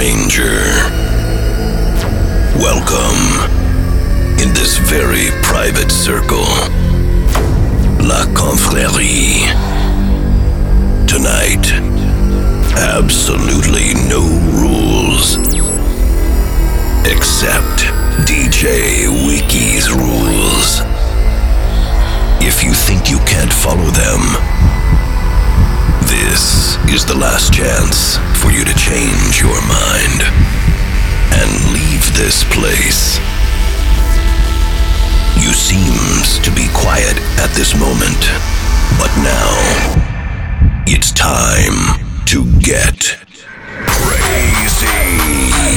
stranger. Welcome in this very private circle, La Confrérie. Tonight, absolutely no rules, except DJ Wiki's rules. If you think you can't follow them, this is the last chance for you to change your mind and leave this place. You seems to be quiet at this moment, but now it's time to get crazy.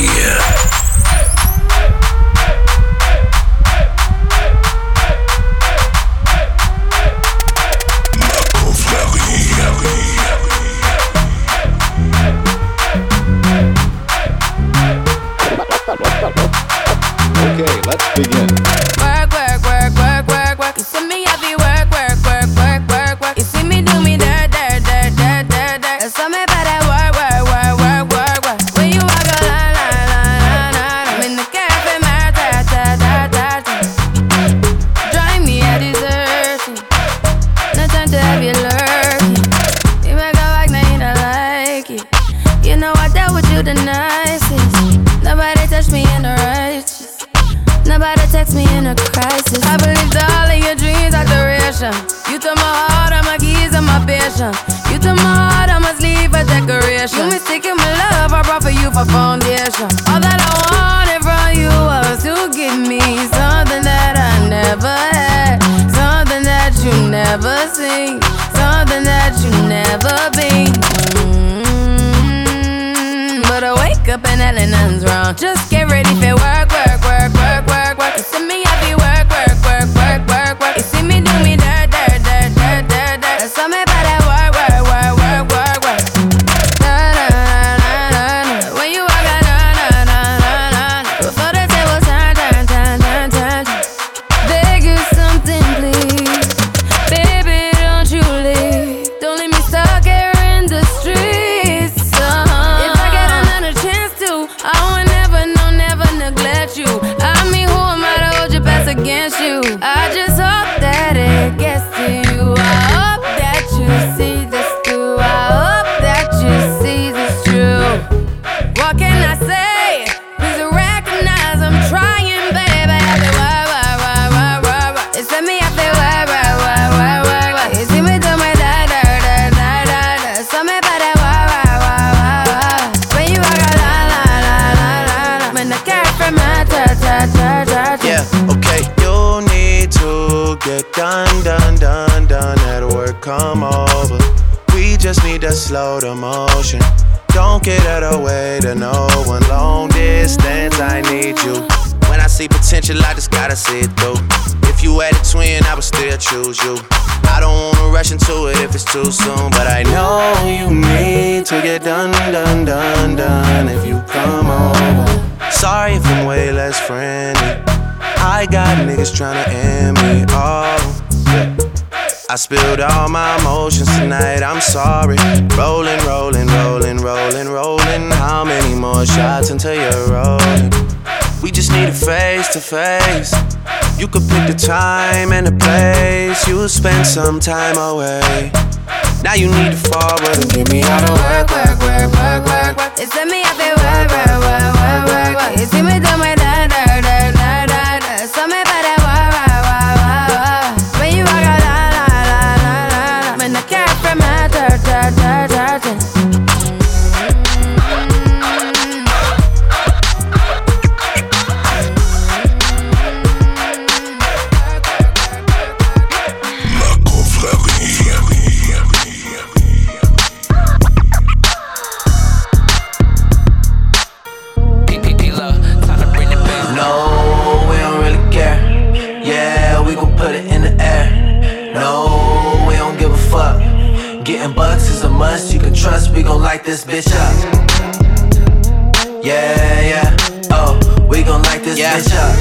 Okay, let's begin. Work, work, work, work, work, work. You see me heavy work, work, work, work, work, work. You see me do me dirt, dirt, dirt, dirt, dirt, dirt. There's something about that work, work, work, work, work, work. When you walk a line, line, line, line, line. I'm in the cafe, my ta, ta, ta, ta, ta. Drive me a desertion. No time to have you lurking. You make a like, now you don't like it. You know I dealt with you the nicest. Nobody touched me in the righteous. Nobody text me in a crisis. I believed all of your dreams are duration. You took my heart, all my keys, and my patience. You took my heart, I must leave a decoration. You mistaken my love, I brought for you for foundation. All that I wanted from you was to give me something that I never had, something that you never seen, something that you never been. But I wake up and hell nothing's wrong. Just get ready for work, work, work, work, work, work. You see me happy work, work, work, work, work, work. You see me do me dirt, dirt, dirt, dirt, dirt, dirt. There's something about that work, work, work, work, work, work. Na na na na na. When you walk out, na na na na na. Before the table turn, turn, turn, turn, turn, turn. Beg you something, please, baby, don't you leave. Don't leave me stuck here in the streets. I would never, no, never neglect you. I mean, who am I to hold your best against you? I just hope that it gets to you. I hope that you see this through. I hope that you see this true. What can I say? Please recognize I'm trying, baby. I feel wah. It's me, I feel wah. You see me do my da. Something about that wah. When you walk out, yeah, okay. You need to get done. That work come over. We just need to slow the motion. Don't get out of the way to no one. Long distance, I need you. When I see potential, I just gotta see it through. If you had a twin, I would still choose you. I don't wanna rush into it if it's too soon, but I know you need to get done. If you come over. Sorry if I'm way less friendly. I got niggas tryna end me. Oh, yeah. I spilled all my emotions tonight, I'm sorry. Rolling. How many more shots until you're rolling? We just need a face to face. You could pick the time and the place. You'll spend some time away. Now you need to forward and get me out of work. It's me, I feel work. You see me do my da. Something about that wah. When you walk out, la. When I care for my dirt. Trust, we gon' light this bitch up. Yeah. Oh, we gon' light this bitch up.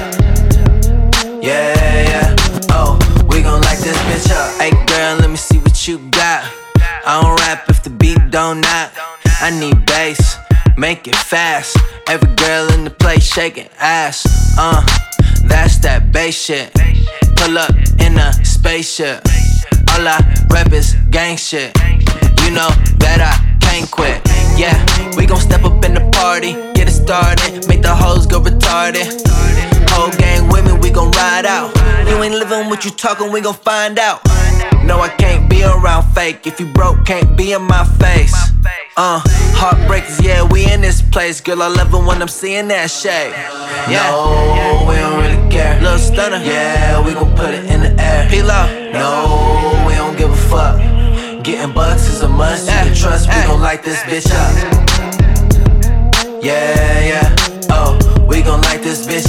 Yeah. Oh, we gon' light this bitch up. Hey girl, let me see what you got. I don't rap if the beat don't knock. I need bass. make it fast. Every girl in the place shaking ass. That's that bass shit. Pull up in a spaceship. All I rep is gang shit. You know that I can't quit. Yeah, we gon' step up in the party, get it started, make the hoes go retarded. Whole gang with me, we gon' ride out. You ain't living what you talking, we gon' find out. No, I can't be around fake. If you broke, can't be in my face. Heartbreakers, yeah, we in this place. Girl, I love it when I'm seeing that shade. Yeah, no, we don't really care. Little stunner, yeah, we gon' put it in the air. P-Lo, no, we don't give a fuck. Getting bucks is a must, you can trust, we gon' light this bitch up. Yeah, yeah, oh, we gon' light this bitch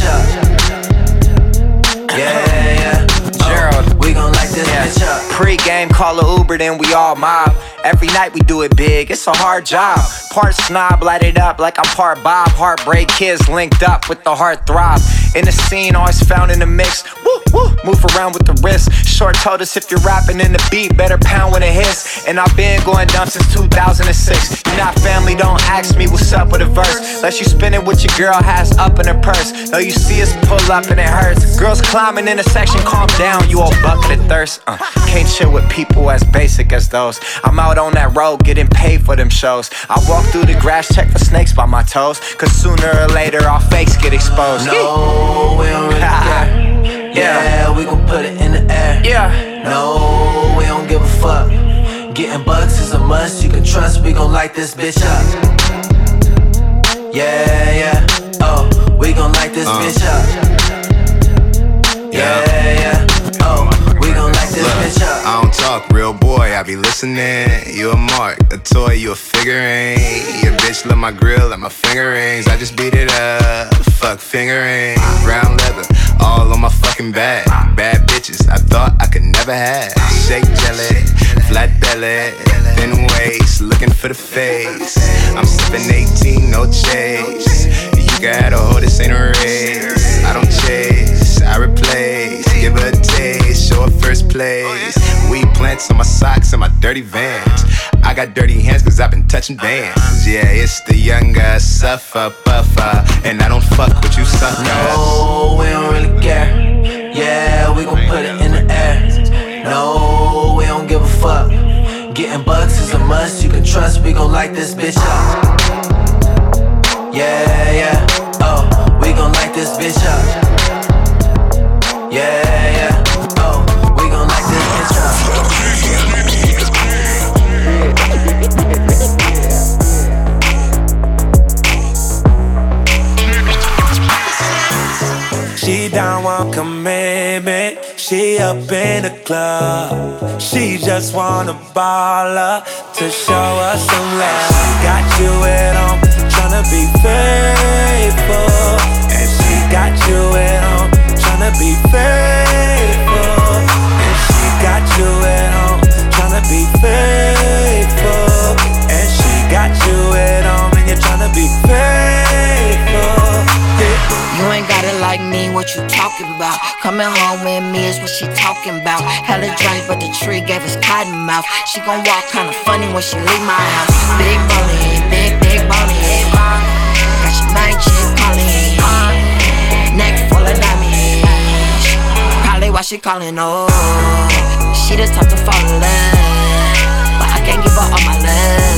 up. Yeah, yeah, oh, we gon' light this bitch up. Pre-game, call a Uber, then we all mob. Every night we do it big, it's a hard job. Part snob, light it up like I'm part Bob. Heartbreak kids linked up with the heart throb. In the scene, always found in the mix. Woo, woo, move around with the wrist. Short told us if you're rapping in the beat, better pound when it hits. And I've been going dumb since 2006. You're not family, don't ask me what's up with a verse. Unless you spin it with your girl has up in her purse. Though you see us pull up and it hurts. Girls climbing in a section, calm down, you all bucket of thirst. Can't chill with people as basic as those. I'm out on that road, getting paid for them shows. I walk through the grass, check for snakes by my toes. Cause sooner or later our fakes get exposed. No, we don't really care. Yeah, we gon' put it in the air. Yeah. No, we don't give a fuck. Getting bucks is a must, you can trust, we gon' light this bitch up. Yeah, yeah, oh, we gon' light this bitch up. Yeah, yeah, oh, we gon' light this bitch up. I don't talk, real boy, I be listening. You a mark, a toy, you a figurine. Your bitch love my grill and my finger rings. I just beat it up, fuck fingering. Brown leather, all on my fucking back. Bad bitches, I thought I could never have. Shake jelly, flat belly, thin waist, looking for the face. I'm sipping 18, no chase. You gotta hold, this ain't a race. I don't chase, I replace. Give her a taste, show her first place. Weed plants on my socks and my dirty Vans. I got dirty hands cause I've been touching bands. Yeah, it's the young guy, suffer, buffer. And I don't fuck with you suckers. No, we don't really care. Yeah, we gon' put it in the air. No, we don't give a fuck. Getting bucks is a must, you can trust, we gon' light this bitch up. Yeah, yeah, oh, we gon' light this bitch up. Yeah, yeah, oh, we gon' light this bitch up. She don't want commitment, she up in the club. She just want a baller to show us some love. Got you at home, tryna be faithful. And she got you at home, tryna be faithful. And she got you at home, tryna be faithful. And she got you at home, and you're tryna be faithful. You ain't got it like me, what you talking about? Coming home with me is what she talking about. Hella drink, but the tree gave us cotton mouth. She gon' walk kinda funny when she leave my house. Big boney, big boney. Got your mind chick calling. Neck full of diamonds. Probably why she calling, oh. She the type to fall in love, but I can't give her all my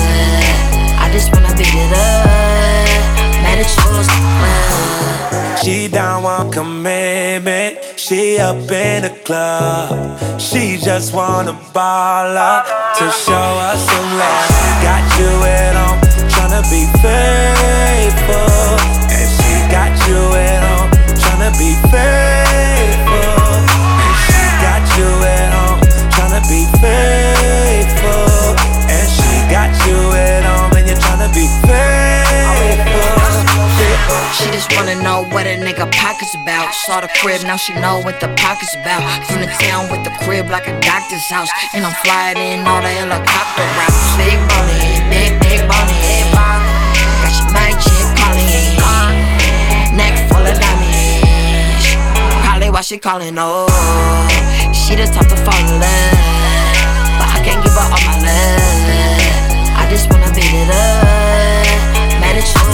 love. I just wanna beat it up. Mad at you, she don't want commitment, she up in the club. She just want a baller to show us some love. Got you at home, tryna be faithful. And she got you at home, tryna be faithful. And she got you at home, tryna be faithful. And she got you at home, and you're tryna be faithful. She just wanna know what a nigga pockets about. Saw the crib, now she know what the pockets about. From the town with the crib like a doctor's house. And I'm flying in all the helicopter routes. Big boney, big boney. Got your mind chick calling. Neck full of diamonds. Probably why she calling, oh. She the type to fall in love, but I can't give her all my love. I just wanna beat it up. Man, it's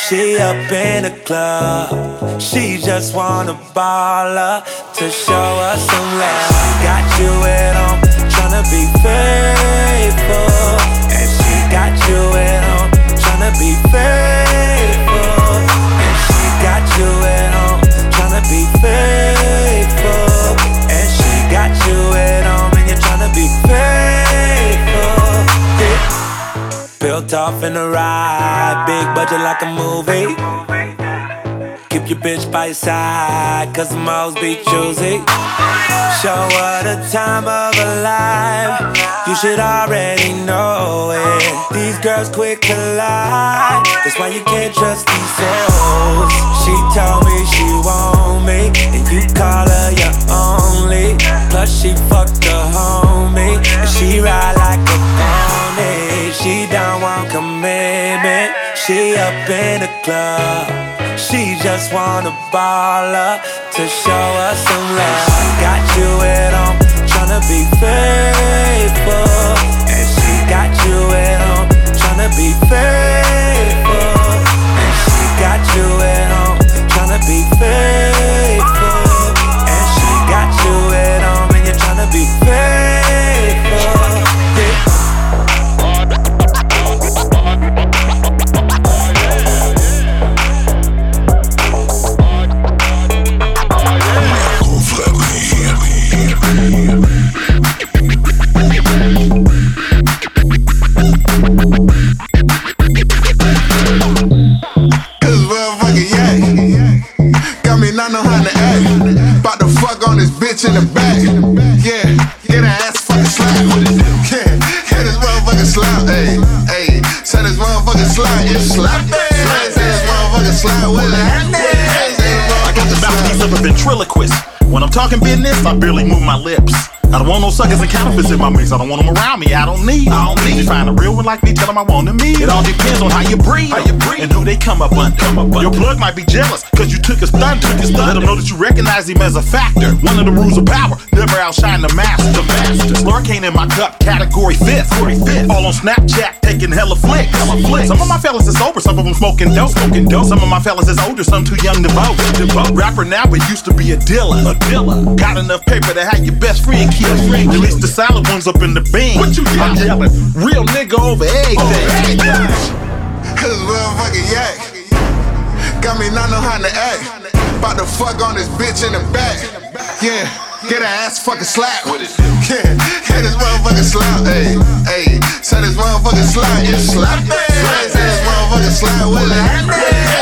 She up in the club. She just wanna ball up to show us some love. Got you at home, tryna be faithful. And she got you at home, tryna be faithful. And she got you at home, tryna be faithful. And she got you at home, and you're tryna be faithful. Yeah. Built off in a ride, big budget like a movie. Keep your bitch by your side, cause them hoes be choosy. Show her the time of her life, you should already know it. These girls quick to lie, that's why you can't trust these hoes. She told me she want me, and you call her your only. Plus she fucked the homie, and she ride like a pony. She don't want commitment, she up in the club. She just wanna ball up to show us some love. Got you at home, tryna be faithful. And she got you at home, tryna be faithful. And she got you at home, tryna be faithful. And she got you at home, and you're tryna be faithful. Yeah. In the back, yeah, get her ass fucking slap. Yeah, hit this motherfucking slap, ayy, ayy. Say this motherfucking slap, it's slap, ayy. Say this motherfucking slap with a hand, I got the mouthpiece of a ventriloquist. When I'm talking business, I barely move my lips. I don't want no suckers and counterfeits in my mix. I don't want them around me. I don't need. You find a real one like me, tell them I want them me. It all depends on how you breathe and who they come up under. Your plug might be jealous cause you took his thunder. Let them know that you recognize him as a factor. One of the rules of power, never outshine the master. Slurricane in my cup, category fifth. All on Snapchat, taking hella flicks. Some of my fellas is sober, some of them smoking dope. Some of my fellas is older, some too young to vote. Rapper now, but used to be a dealer. Got enough paper to have your best friend kill. Release the solid ones up in the bean. What you yelling? I'm yelling, real nigga over everything. Cause motherfucking yak got me not know how to act. About to fuck on this bitch in the back. Yeah, get her ass fucking slap. Yeah, hit this motherfucking slap. Ayy, ayy. Say this motherfucking slap, it's slap. Say this motherfucking slap with a hand.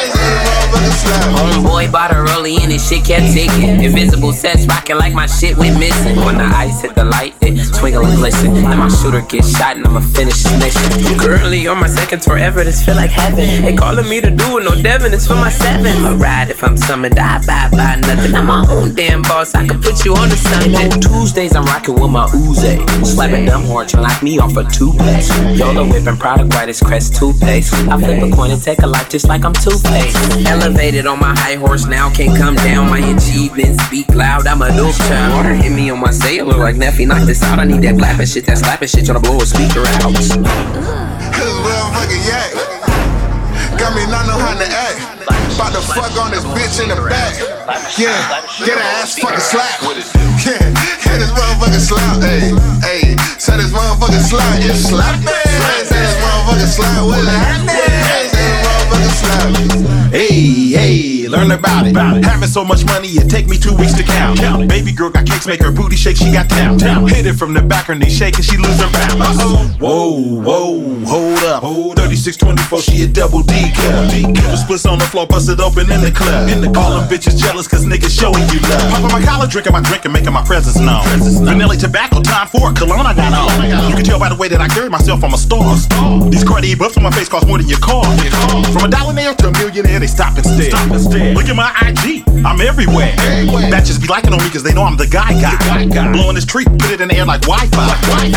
Homeboy bought her early and his shit kept ticking. Invisible sets rocking like my shit went missing. When the ice hit the light, it twinkle and glisten. And my shooter gets shot and I'ma finish this mission. Currently on my second tour ever, this feel like heaven. They calling me to do it, no Devin, it's for my seven. I ride if I'm summoned, I buy nothing. I'm my own damn boss, I can put you on the Sunday. On Tuesdays I'm rocking with my Uzi. Slapping dumb horns, you knock me off a toothpaste. Yola whipping product white as Crest toothpaste. I flip a coin and take a life just like I'm Two-Face. Elevated on my high horse now, can't come down. My achievements speak loud, I'm a dope child. Water hit me on my sailor like Neffy, knock this out. I need that blapping shit, that slapping shit, tryna blow a speaker out. Cause motherfucking yak got me not know how to act. About to fuck on this bitch in the back. Yeah, get her ass fucking slap. Yeah, hit this motherfucking slap. Ayy, ayy. Say this motherfucking slap, it's slap. Say this motherfucking slap with a hand. Say this motherfucking slap. Hey, hey, learn about it. Having so much money, it take me 2 weeks to count. Baby girl got cakes, make her booty shake, she got down. Hit it from the back, her knee shaking, she lose her balance. Whoa, whoa, hold up. 3624, she a double D cup. The splits on the floor, bust it open in the club. All them bitches jealous, cause niggas showing you love. Popping my collar, drinking my drink, and making my presence known. Vanilla tobacco, time for a cologne I got on. You can tell by the way that I carry myself, I'm a star. These Cartier buffs on my face cost more than your car. From a dollar nail to a millionaire, they stop instead. Look at my IG, I'm everywhere. Batches be liking on me cause they know I'm the guy. Blowing this tree, put it in the air like Wi-Fi.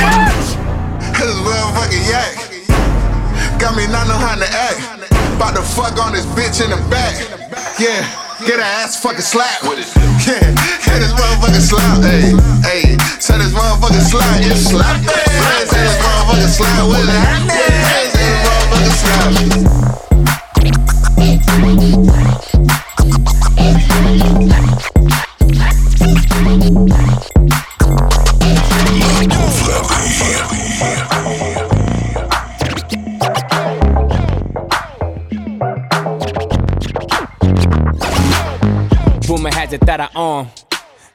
Cause motherfucking yak got me not know how to act. About to fuck on this bitch in the back. Yeah, get her ass fucking slap. Yeah, hit this motherfucking slap. Ayy, ayy. Say this motherfucking slap, it's slap. Say this motherfucking slap with a hand. Say this motherfucking slap.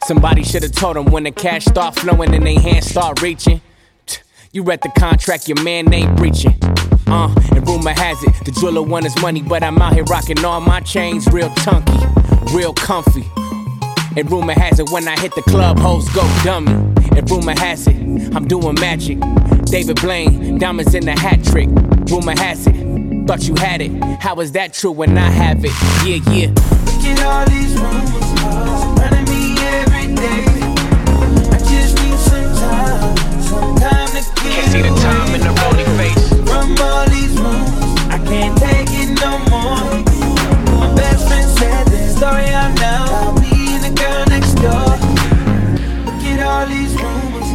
Somebody should've told them when the cash start flowing and they hands start reaching. You read the contract, your man ain't breaching. And rumor has it, the jeweler want his money, but I'm out here rocking all my chains real chunky, real comfy. And rumor has it, when I hit the club, hoes go dummy. And rumor has it, I'm doing magic. David Blaine, diamonds in the hat trick. Rumor has it, thought you had it. How is that true when I have it? Yeah, yeah. Look at all these rumors surrounding me every day. I just need some time to get Can't see the time in the rolling face. From all these rumors, I can't take it no more. My best friend said this story out now. About me and the girl next door. Look at all these rumors.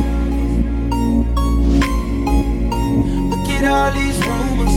Look at all these rumors.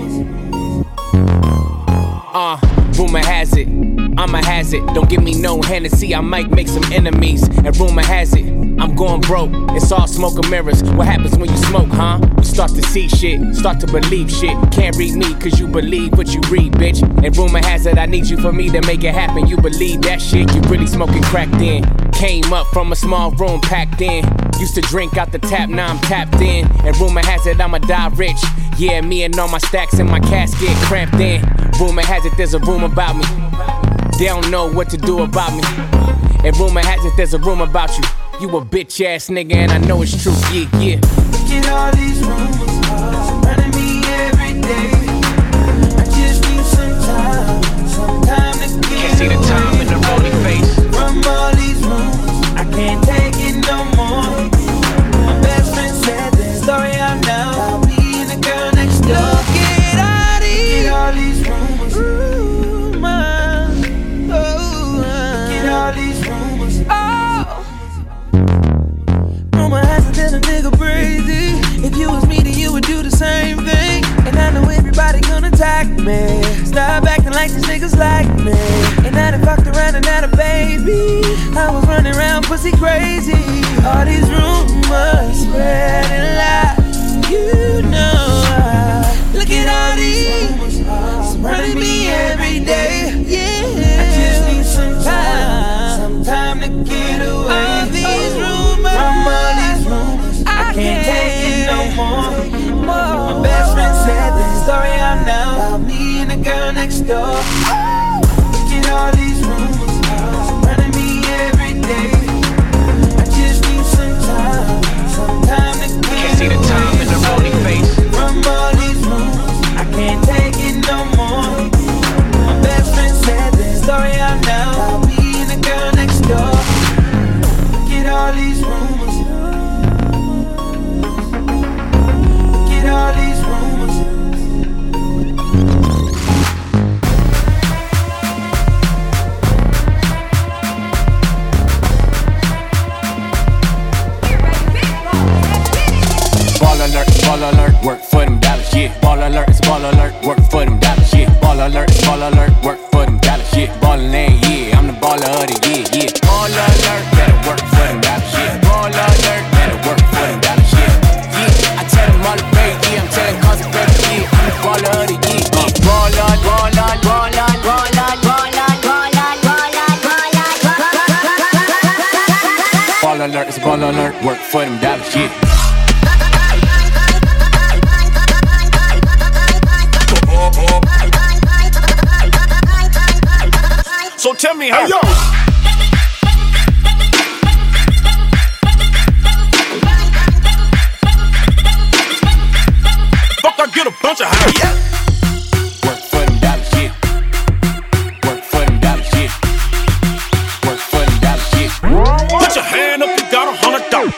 Rumor has it, I'm a hazard. Don't give me no Hennessy, I might make some enemies. And rumor has it, I'm going broke. It's all smoke and mirrors. What happens when you smoke, huh? You start to see shit, start to believe shit. Can't read me cause you believe what you read, bitch. And rumor has it, I need you for me to make it happen. You believe that shit, you really smoking crack then. Came up from a small room packed in. Used to drink out the tap, now I'm tapped in. And rumor has it, I'ma die rich. Yeah, me and all my stacks in my casket cramped in. Rumor has it, there's a room about me. They don't know what to do about me. And rumor has it, there's a room about you. You a bitch ass nigga and I know it's true, yeah, yeah. Look at all these rumors surrounding me every day. I just need some time to get Can't see the time in the rolling face. From all these rumors, I can't take it no more. My best friend said this story out now. About me and the girl next door. Look at all these rumors. Ooh, man. Oh, look at all these rumors. Oh. Rumor has it that a nigga crazy. If you was me, then you would do the same thing. And I know everybody gonna attack me. Stop acting like these niggas like me. And I done fucked around and had a baby. I was running around pussy crazy. All these rumors spreading lies. You know look at all these rumors surrounding me every day. Yeah, I just need some time to get away. All these rumors, from all these rumors, I can't take it no more. My best friend said this story out now. About me and the girl next door. Look at all these rumors surrounding me every day. I just need some time to get Can't see the time in the rolling face. from all these rumors, I can't take it no more. My best friend said this story out now. About me and the girl next door. Look at all these rumors. Look at all these rumors. Ball alert, work for them dollars, yeah. Ball alert, it's ball alert, work for them dollars, yeah. Ball alert, it's ball alert, work for them dollars, yeah. Ballin' in, yeah, I'm the baller of the year, yeah. Ball alert, better work for them dollars, yeah. Ball alert, better work for them dollars, yeah. Yeah, I tell them all the break, yeah, I'm telling cause of break, yeah. I'm the baller of the year, yeah. Ball alert, ball alert, ball alert, ball alert, ball alert, ball alert, ball alert, ball alert. Ball alert, it's ball alert, work for them dollars, yeah. So tell me how. Hey, yo. Fuck, I get a bunch of high. Yeah. Work for them dollars, yeah. Work for them dollars, yeah. Work for them dollars, yeah. Put your hand up, you got $100.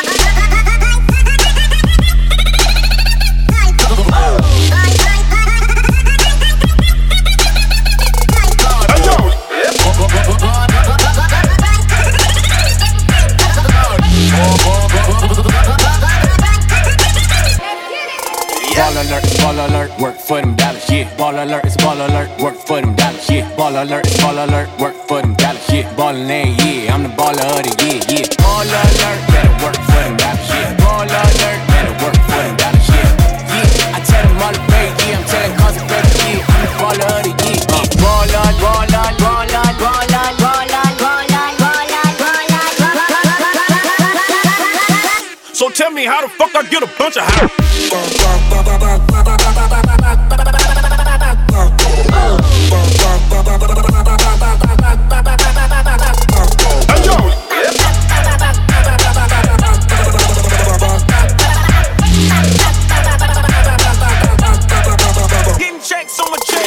Ball alert, work for them dollars, yeah. Ball alert, it's ball alert, work for them dollars, yeah. Ball alert, it's ball alert, work for them dollars, yeah. Ballin' in, yeah, I'm the baller of the year, yeah. Ball alert, better work for them dollars, yeah. Ball alert, better work for them dollars, yeah. Yeah, I tell them all the break, yeah, I'm telling cause of break, yeah. I'm the baller of the year, yeah. Ball alert, ball alert, ball alert, ball alert, ball alert, ball alert, ball alert, ball alert, ball alert. me how the fuck I get a bunch of house. Hey, yo. Getting checks on my check.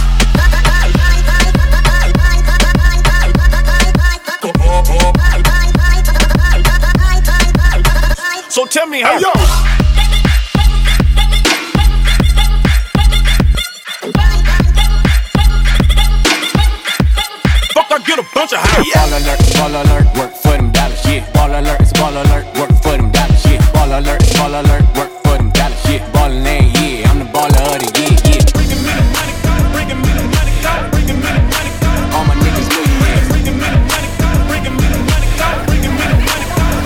So tell me how. Hey, yo. Fuck, I get a bunch of high. Ball alert, work for them dollars, yeah. Ball alert, it's ball alert, work for them dollars, yeah. Ball alert, it's ball alert, work for them dollars, yeah. Ballin' ain't, yeah, I'm the baller of the year, yeah. Bringin' me the money, bringin' me the money, bringin' me the money. All my niggas millionaires. Bringin' me the money, bringin' me the money, bringin' me the money.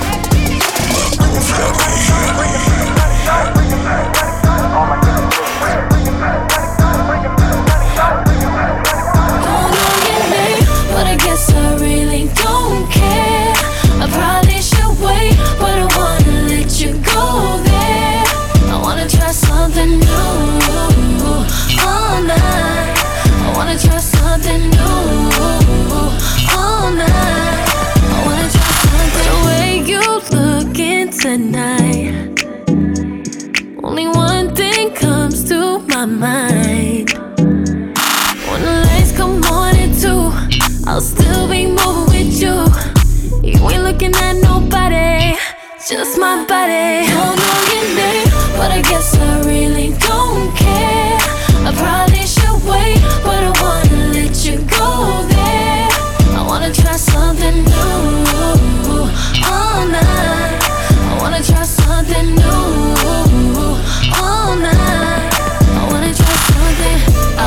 But I guess I really don't care. I probably should wait, but I wanna let you go there. I wanna try something new all night. I wanna try something new all night. I wanna try something. The way you looking tonight, only one thing comes to my mind. When the lights come on at 2, I'll still be moving with you. You ain't looking at nobody, just my body. Don't know your name, but I guess I really don't care. I probably should wait, but I wanna let you go there. I wanna try something new all night. I wanna try something new all night. I wanna try something.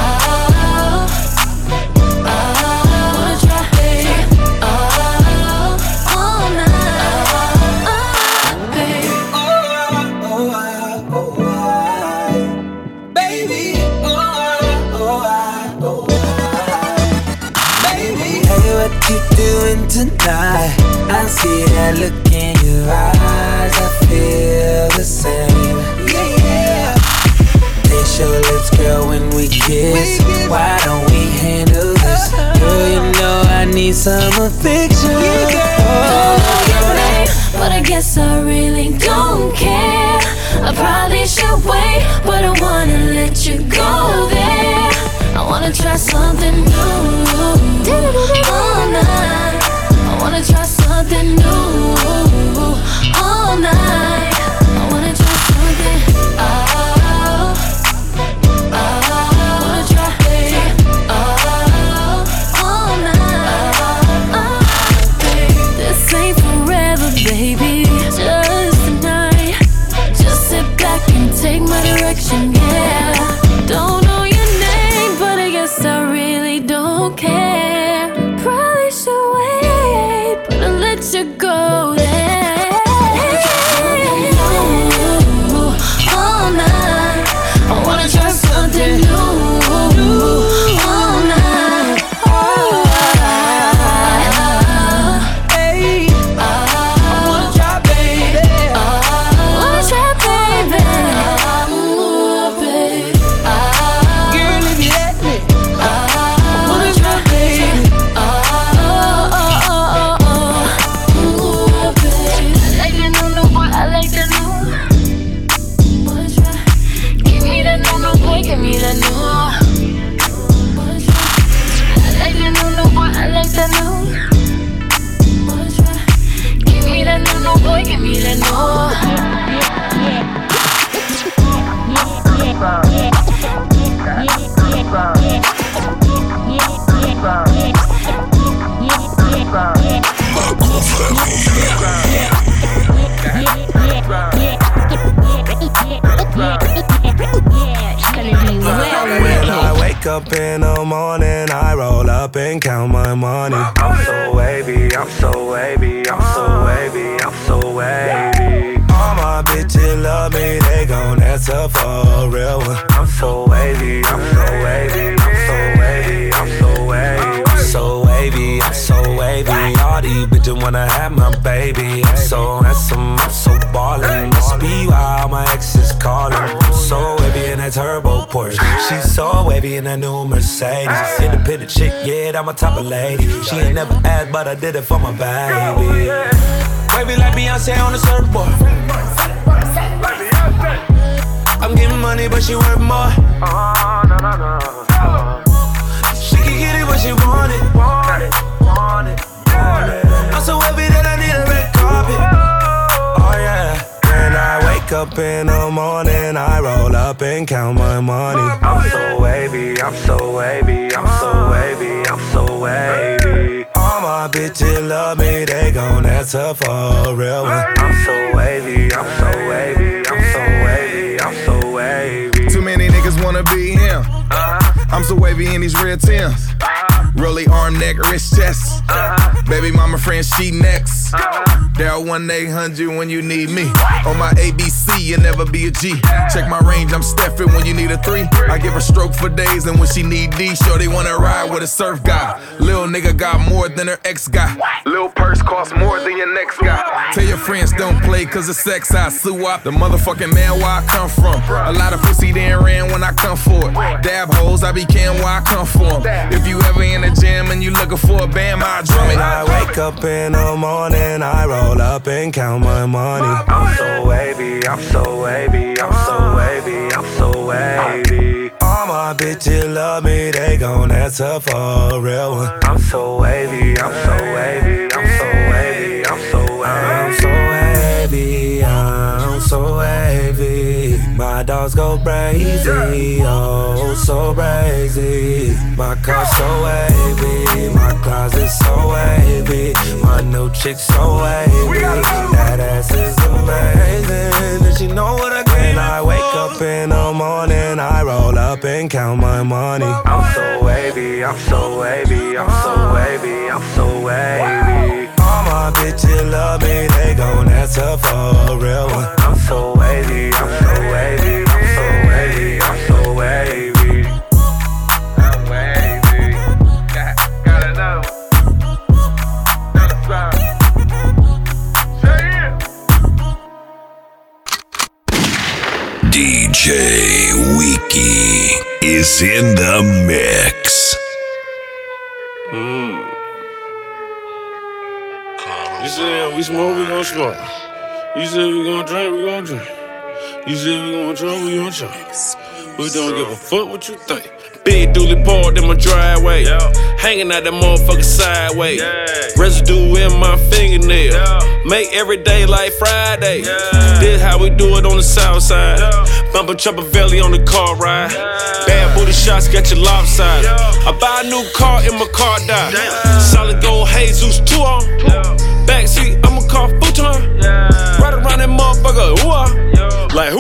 Tonight, I see that look in your eyes. I feel the same. Yeah. Taste your lips, girl, when we kiss. Why don't we handle this? Girl, you know I need some affection. But I guess I really don't care. I probably should wait, but I wanna let you go there. I wanna try something new all night. I wanna try something new all night. I wanna try something. I wanna try all night. This ain't forever, baby. Just tonight. Just sit back and take my direction, yeah. Don't know your name, but I guess I really don't care. Probably should wait, but I'll let you go there. All night, I wanna try something new all night. Hey, I wanna try, baby. I wanna try, baby. Ooh, baby. Girl, if you let me, I wanna try, baby. Ooh, baby. I like the new boy, I like the new. Wanna try? Give me the new boy, give me the new. Wanna try? I like the new boy, I like the new. Wanna try? Give me the new boy, give me the new. When I wake up in the morning, I roll up and count my money. I'm so wavy, I'm so wavy, I'm so wavy, I'm so wavy. All my bitches love me, they gon' answer for a real one. I'm so wavy, I'm so wavy, I'm so wavy, I'm so wavy. I'm so wavy, I'm so wavy. all these bitches wanna have my baby. I'm so handsome, I'm so ballin'. Must be why all my exes callin'. I'm so wavy in that turbo Porsche. She's so wavy in that new Mercedes. Independent chick, yeah, that my type of lady. She ain't never asked, but I did it for my baby. Wavy like Beyonce on the surfboard. I'm getting money, but she worth more. She can get it, but she want it. I'm so happy that I need a red carpet. Oh yeah. When I wake up in the morning, I roll up and count my money. I'm so wavy, I'm so wavy, I'm so wavy, I'm so wavy. All my bitches love me, they gon' answer for a real one. I'm so wavy, I'm so wavy, I'm so wavy, I'm so wavy. Too many niggas wanna be him. I'm so wavy in these red Timbs. Rolly arm, neck, wrist, chest. Baby mama friend, she next. Dial 1-800 when you need me. On my ABC, you never be a G. Check my range, I'm Steffin' when you need a 3. I give her stroke for days, and when she need D, sure they wanna ride with a surf guy. Lil' nigga got more than her ex guy. Lil' purse costs more than your next guy. Tell your friends don't play, cause it's sex I sue up. The motherfucking man where I come from. A lot of pussy then ran when I come for it. Dab hoes, I be can where I come from. If you ever in the gym and you looking for a band, I drum it. When I wake up in the morning, I roll up and count my money. I'm so wavy, I'm so wavy, I'm so wavy, I'm so wavy. All my bitches love me, they gon' answer for a real one. I'm so wavy, I'm so wavy, I'm so wavy, I'm so wavy. I'm so wavy, I'm so wavy. My dogs go crazy, oh so crazy. My car so wavy, my closet so wavy. My new chick so wavy, that ass is amazing. And she know what I get. When I wake up in the morning, I roll up and count my money. I'm so wavy, I'm so wavy, I'm so wavy, I'm so wavy. All my bitches love me, they gon' answer for a real one. I'm so wavy, I'm so wavy, I'm so wavy, I'm so wavy. I'm wavy, gotta know. DJ Wiki is in the mix. You said we smoke, we gon' smoke. You said we gon' drink, we gon' drink. You said we gon' drink, we gon' drink. We don't give a fuck what you think. Big dually parked in my driveway, hanging out that motherfucker sideways. Residue in my fingernail, make every day like Friday. This how we do it on the south side. Bumper chopper belly on the car ride. Bad booty shots got you lopsided. I buy a new car in my car die. Solid gold Jesus 2 on. Backseat, I'ma call futon. Right around that motherfucker, hoo-ah. Like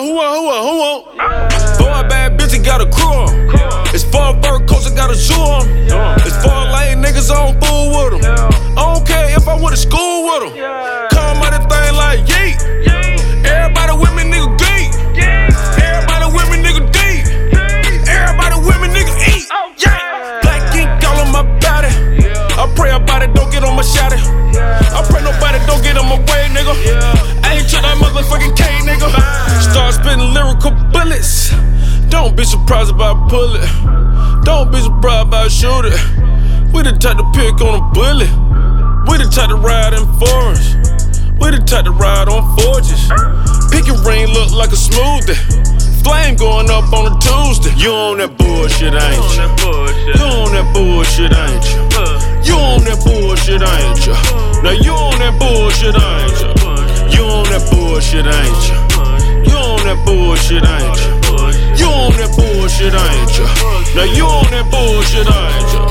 hoo-ah. Boy, bad bitch, he got a crew on. It's 4 fur coats, I got a zoo on. It's 4 lame niggas, I don't fool with them. I don't care if I went to school with them. Come out that thing like yeet. Everybody with me, nigga, geek. Everybody with me, nigga, deep. Everybody with me, nigga, eat. Black ink all on my body. I pray about it, don't get on my shotty. I pray nobody don't get on my way, nigga. I ain't trying that motherfucking K, nigga. Start spitting lyrical bullets. Don't be surprised if I pull it. Don't be surprised if I shoot it. We the type to pick on a bullet. We the type to ride in forests. We the type to ride on forges. Pick your ring look like a smoothie. Flame going up on a Tuesday. You on that bullshit, ain't you? You on that bullshit, ain't you? You on that bullshit, ain't you? Now you on that bullshit, ain't you? You on that bullshit, ain't you? You on that bullshit, ain't you? You on that bullshit, ain't you? Now you on that bullshit, ain't you?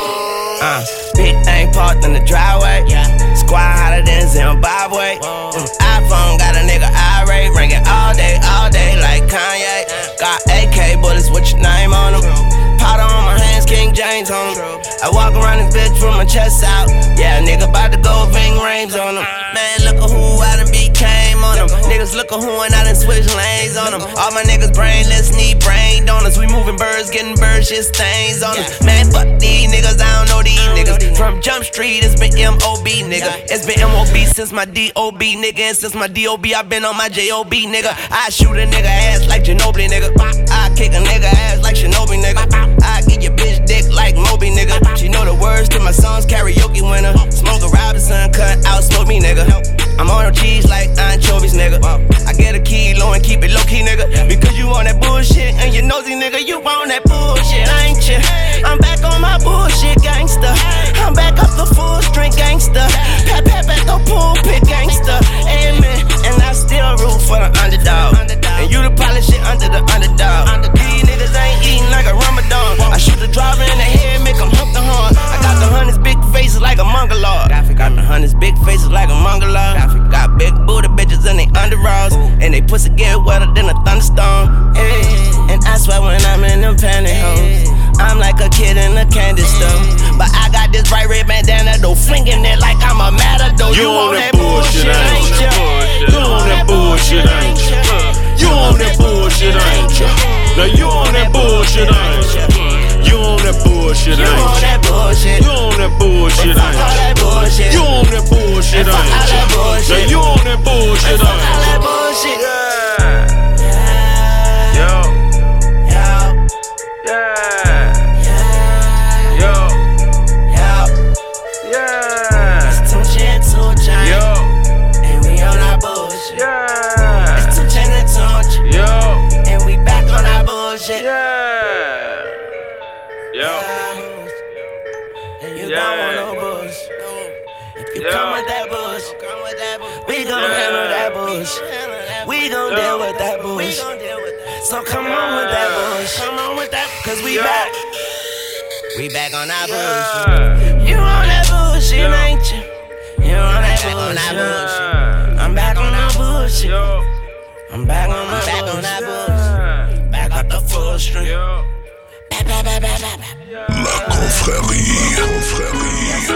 Big thing parked in the driveway. Squad hotter than Zimbabwe. iPhone got a nigga irate, ringing all day like Kanye. Got AK bullets with your name on them. Powder on my hands, King James on them. I walk around this bitch with my chest out. Yeah, nigga about to go Ving Rhames on them. Man, look at who I done became on them. Niggas look at who and I done switch lanes on them. All my niggas brainless, need brain donors. We moving birds, getting bird shit stains on us. Man, fuck these niggas, I don't know these niggas. From Jump Street, it's been M.O.B. nigga. It's been M.O.B. since my D.O.B. nigga. And since my D.O.B. I been on my J.O.B. nigga. I shoot a nigga ass like Ginobili nigga. I kick a nigga ass like Shinobi nigga. I get your bitch dick like Moby nigga. She know the words to my songs, karaoke winner. Smoke a Robinson, cut out, smoke me nigga. I'm on them cheese like anchovies nigga. I get a kilo and keep it low key nigga. Because you on that bullshit and you nosy nigga. You on that bullshit, ain't you? I'm back on my bullshit gangster. I'm back up the full strength gangster. Pat the pulpit gangster. Amen. And I still root for the underdog. And you the polish shit under the underdog. These niggas ain't eating like a Ramadan. I shoot the driver in the head, make him hump the horn. I got the hundreds big faces like a mongoloid. Got the hundreds big faces like a mongoloid. Got big booty bitches and they underalls. And they pussy get wetter than a thunderstorm. Hey. And I swear when I'm in them pantyhose, I'm like a kid in a candy store. But I got this bright red bandana though, flinging it like I'm a matador. You on that bullshit, ain't ya? You on that bullshit, ain't ya? You on that bullshit, ain't ya? Now you on that bullshit, ain't ya? You on that bullshit, ain't ya? You on that bullshit, ain't ya? You on that bullshit, ain't ya? Now you on that bullshit, ain't ya? We gon' deal with that bush. So come on with that bush. Come on with that, cause we back. We back on that bush. You on that bullshit, ain't you? You on that bullshit. I'm back on that bullshit. I'm back on that bullshit. Back up the full string. La confrérie.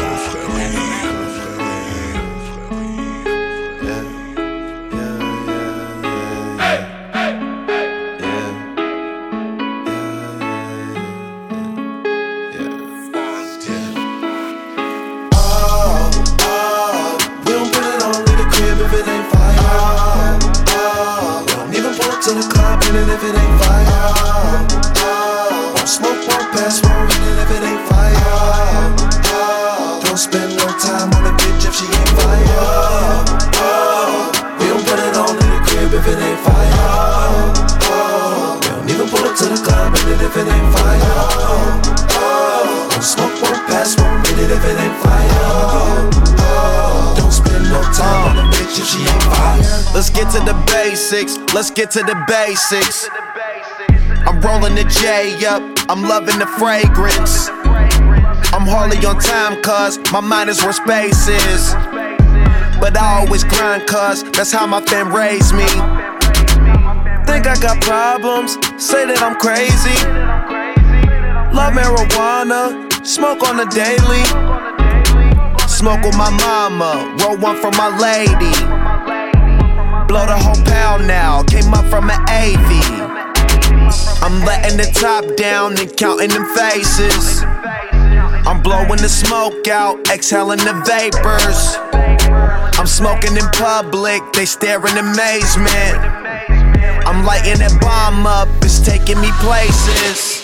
To the club, and if it ain't fire, won't smoke, won't pass, won't read it if it ain't fire. Don't spend no time on a bitch if she ain't fire. We don't put it on in the crib if it ain't fire. We don't even pull up to the club, and if it ain't fire. Won't smoke, won't pass, won't read it if it ain't fire. Don't spend no time on a bitch if she ain't fire. Let's get to the basics, let's get to the basics. I'm rolling the J up, I'm loving the fragrance. I'm hardly on time cause my mind is where space is. But I always grind cause that's how my fam raised me. Think I got problems, say that I'm crazy. Love marijuana, smoke on the daily. Smoke with my mama, roll one for my lady. Blow the whole pound now, came up from an AV. I'm letting the top down and counting them faces. I'm blowing the smoke out, exhaling the vapors. I'm smoking in public, they stare in amazement. I'm lighting that bomb up, it's taking me places.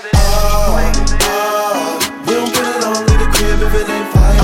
We don't put it on in the crib if it ain't fire.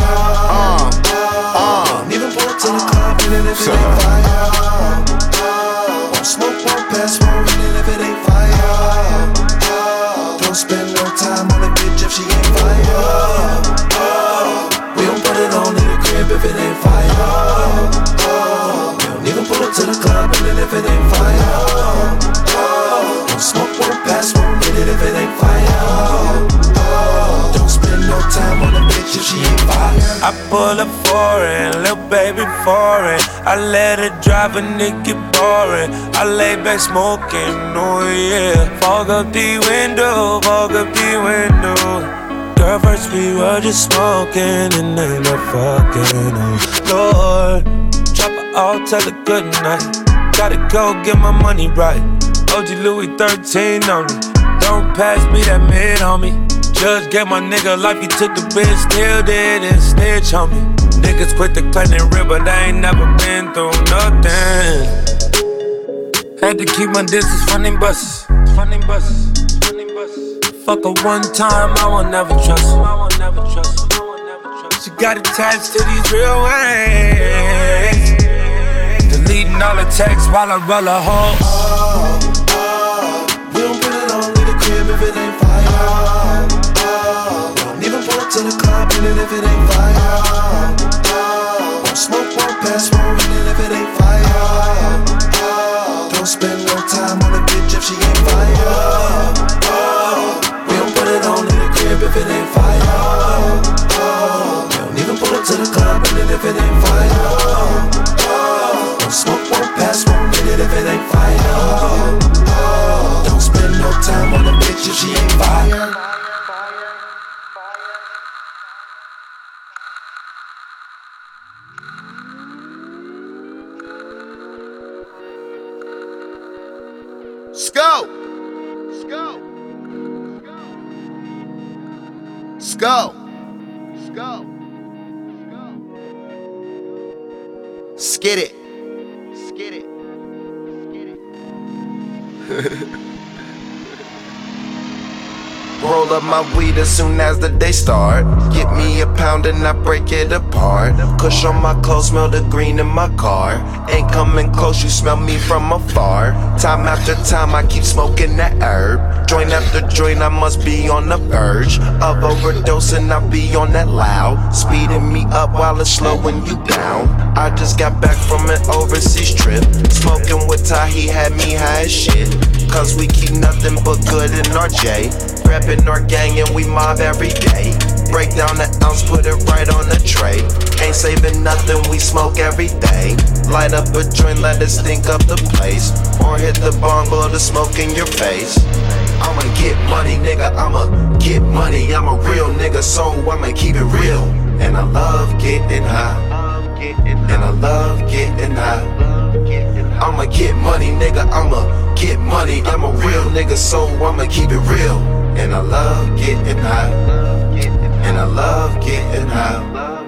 Don't even pull up to the club and if it ain't fire. Won't smoke, won't pass, won't read it if it ain't fire. Don't spend no time on a bitch if she ain't fire. We don't put it on in the crib if it ain't fire. We don't even pull up to the club and if it ain't fire. Don't smoke, won't pass, won't read it if it ain't fire. Don't spend no time on a bitch if she ain't fire. I pull up foreign, little baby foreign. I let her drive a nigga boring. I lay back smoking, oh yeah. Fog up the window, fog up the window. Girl, first we were just smoking and then I fucking, oh Lord. Drop her off, tell her good night. Gotta go get my money right. OG Louis 13 on me. Don't pass me that mid, homie. Judge gave my nigga life, he took the bitch, still did and snitch on me. Niggas quit the claim and rip, but I ain't never been through nothing. Had to keep my distance from them buses. Fuck her one time, I won't never trust her. She got attached to these real ways. Deleting all the texts while I roll a hole. We don't put it on in the crib if it ain't fire. Don't even pull up to the club in it if it ain't fire. Won't smoke, won't pass, won't in it if it ain't fire. Don't spend no time on a bitch if she ain't fire. We don't put it on in the crib if it ain't fire. Don't even pull up to the club in it if it ain't fire. Don't smoke, won't pass, won't hit it if it ain't fire. Don't spend no time on a bitch if she ain't fire. Sko! Skid it. Roll up my weed as soon as the day start. Get me a pound and I break it apart. Kush on my clothes, smell the green in my car. Ain't coming close, you smell me from afar. Time after time I keep smoking that herb. Joint after joint I must be on the verge of overdosing, I be on that loud. Speeding me up while it's slowing you down. I just got back from an overseas trip. Smoking with Ty, he had me high as shit. Cause we keep nothing but good in our J. Reppin' our gang and we mob every day. Break down the ounce, put it right on the tray. Ain't saving nothing, we smoke every day. Light up a joint, let it stink up the place. Or hit the bong, blow the smoke in your face. I'ma get money, nigga, I'ma get money. I'm a real nigga, so I'ma keep it real. And I love getting high. And I love getting high. I'ma get money, nigga, I'ma get money. I'm a real nigga, so I'ma keep it real. And I love getting high. And I love getting high.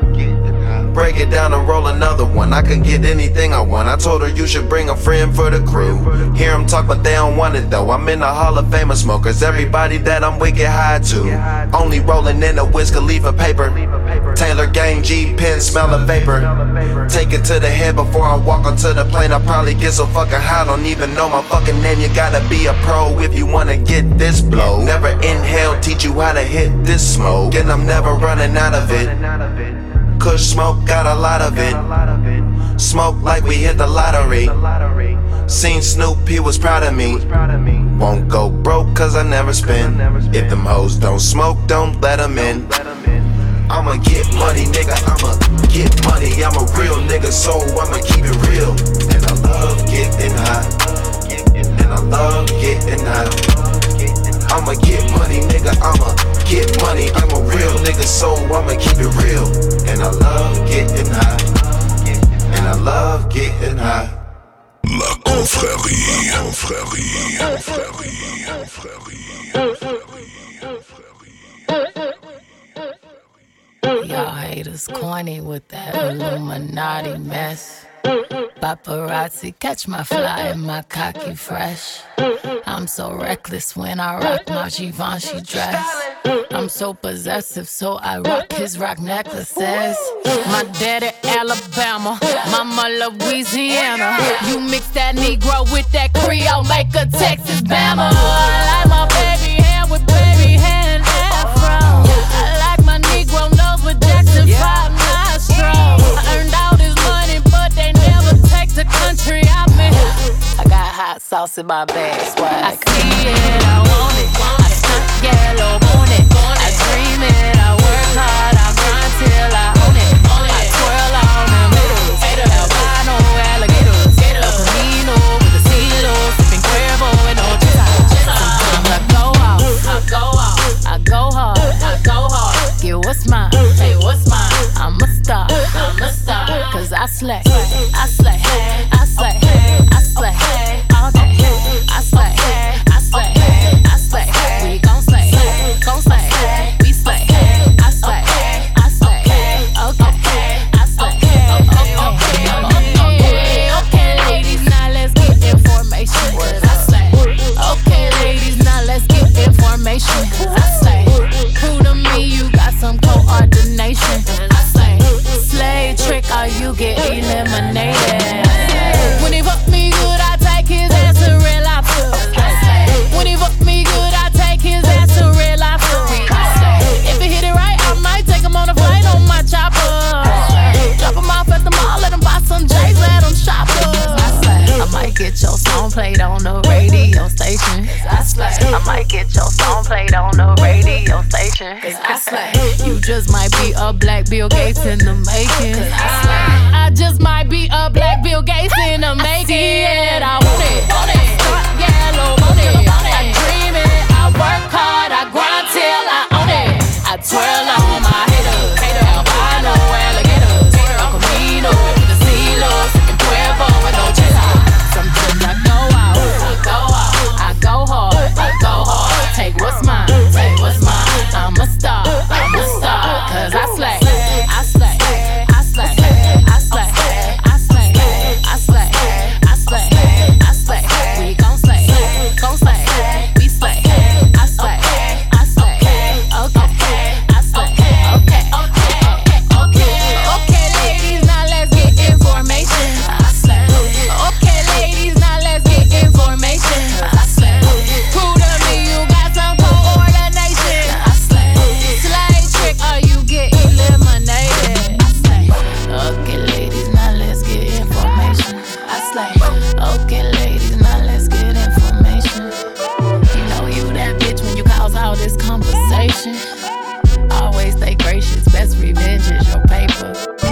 Break it down and roll another one. I can get anything I want. I told her you should bring a friend for the crew. Hear them talk but they don't want it though. I'm in the Hall of Fame of smokers. Everybody that I'm with get high to. Only rolling in a Wiz Khalifa paper. Taylor gang G pen, smell of vapor. Take it to the head before I walk onto the plane. I probably get so fucking high, don't even know my fucking name. You gotta be a pro if you wanna get this blow. Never inhale, teach you how to hit this smoke. And I'm never running out of it. Kush smoke, got a lot of it. Smoke like we hit the lottery. Seen Snoop, he was proud of me. Won't go broke cause I never spend. If them hoes don't smoke, don't let them in. I'ma get money, nigga, I'ma get money. I'm a real nigga, so I'ma keep it real. And I love getting high. And I love getting high. I'ma get money, nigga, I'ma get money. I'm a real nigga, so I'ma keep it real. And I love getting high. And I love getting high. La confrérie. Y'all haters corny with that Illuminati mess. Paparazzi catch my fly and my cocky fresh. I'm so reckless when I rock my Givenchy dress. I'm so possessive, so I rock his rock necklaces. My daddy Alabama, mama Louisiana. You mix that Negro with that Creole, make a Texas Bama. I like my baby hair with baby hair and afro. I like my Negro nose with Jackson 5 nostrils. I earned all this money, but they never take the country out me. I got hot sauce in my bag, swag. I see it, I want it. I stuck yellow on it. I dream it, I work hard, I grind till I own it. I twirl on them middles, albino alligators, El Camino with a CeeLo, sipping Cuervo and Ocho. Sometimes I go out, I go hard, get what's mine, hey what's mine. I'm a star, cause I slay, I slay, I slay, I slay. eliminated. When he fuck me good, I take his ass to Red Lobster. When he fuck me good, I take his ass to Red Lobster. If he hit it right, I might take him on a flight on my chopper. Drop him off at the mall, let him buy some J's, let him shop up. I might get your song played on the radio station. I might get your song played on the radio station. You just might be a black Bill Gates in the making. I just might be a black Bill Gates in the making. I want it, yellow, want it. I dream it, I work hard, I grind till I own it. I twirl on my haters, albino alligators, Uncle Mino, the CeeLo, sipping Cuervo with no chiller. Sometimes I go out, I go hard, take what's mine, I'm a star, cause I slay, I slay, I slay, I slay, I slay, I slay, I slay, I slay, we gon' slay, we slay, I slay, I slay, okay, I slay, okay, ladies, now let's get information, I slay, okay, ladies, now let's get information, I slay, prove to me you got some coordination, I slay, slay trick or you get eliminated, I slay, okay, ladies, now let's get information, I slay, okay, ladies, now let's get information, you know you that bitch when you cause all this conversation, always stay gracious, best revenge is your paper.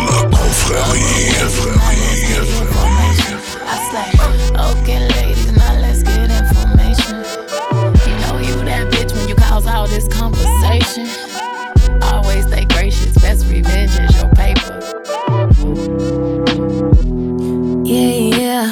I slay, okay, ladies, now let's get information. You know you that bitch when you cause all this conversation. Always stay gracious, best revenge is your paper. Yeah.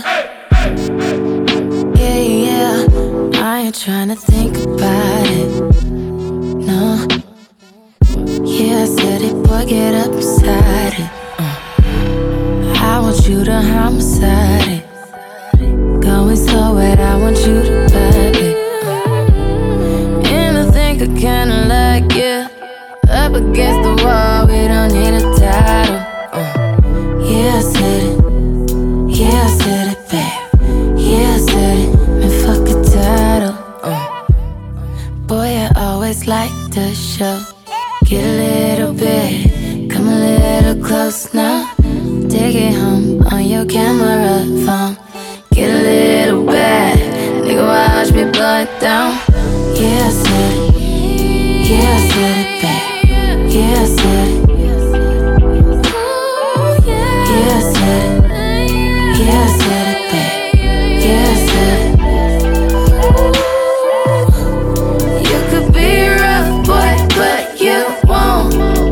I ain't tryna think about it. No. Yeah, I said it, boy, get up beside it. I want you to homicide it. Going so wet, I want you to vibe it. And I think I kinda like you. Up against the wall, we don't need a title. Yeah, I said it. Yeah, I said it, babe. Yeah, I said it. Man, fuck a title. Boy, I always like the show. Get a little bit, come a little close now. Take it home on your camera phone. Get a little bad, nigga, watch me blow it down. Yeah, I said it. Yeah, I said it, babe. Yeah, I said it. Yeah, I said it. Yeah, I said it, babe. Yeah, I said it. You could be rough, boy, but you won't.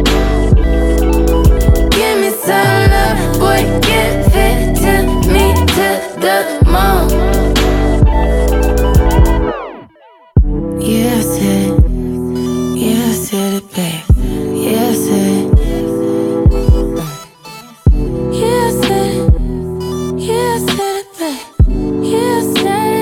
Give me some love, boy, give it to me to the moon. Yeah, I said it. Yeah, I said it, babe. Yeah, I said it. Yeah, I said it. Yeah, I said it, babe. Yeah, I said it.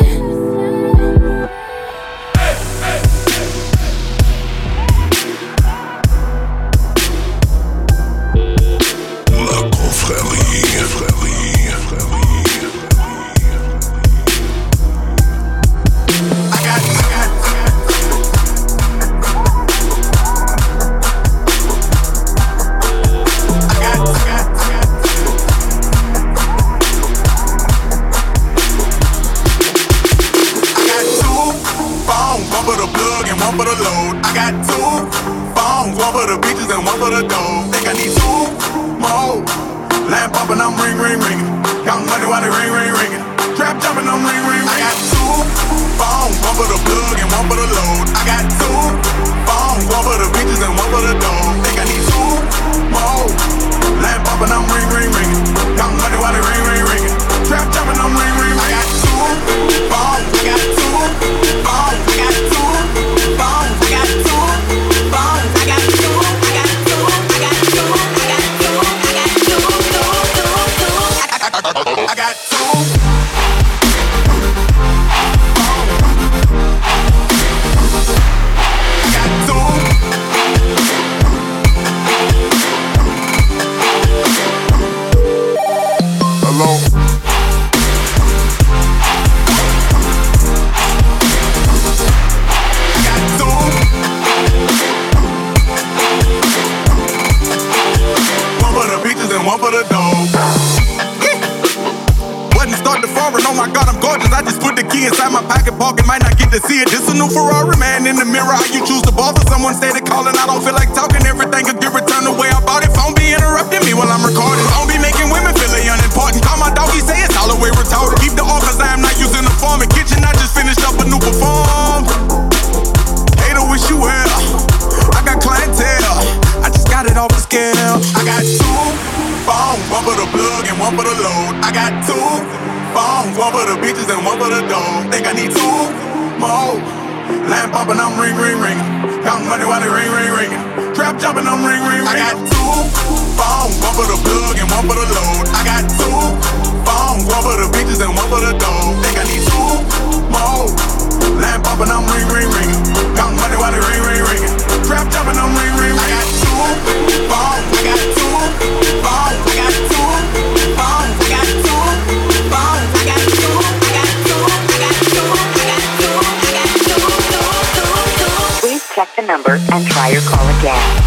the foreign. Oh my God, I'm gorgeous. I just put the key inside my pocket, parking, might not get to see it. This a new Ferrari, man. In the mirror, how you choose to bother someone steady calling. I don't feel like talking. Everything could get returned the way I bought it. Phone be interrupting me while I'm recording. Phone be making women feel they unimportant. Call my dog, he say it's all the way retarded. Keep the all cause I am not using the form. In kitchen, I just finished up a new perform. Hater, wish you well. I got clientele. I just got it off the scale. I got 2 phones, one for the plug and one for the load. I got 2 phones, one for the bitches and one for the dog. Think I need 2 more. Lamp popping, I'm ring, ring, ring. Counting money while they ring, ring, ring. Trap jumping, I'm ring, ring, ring. I got 2 phones, one for the plug and one for the load. I got 2 phones, one for the bitches and one for the dog. Think I need 2 more. Lamp popping, I'm ring, ring, ring. Counting money while they ring, ring, ring. Trap jumping, I'm ring, ring, ring. I got 2 phones, I got 2 phones, I got 2 phones, I got 2 phones, I got 2, I got 2, I got 2, I got 2, I got 2. Please check the number and try your call again.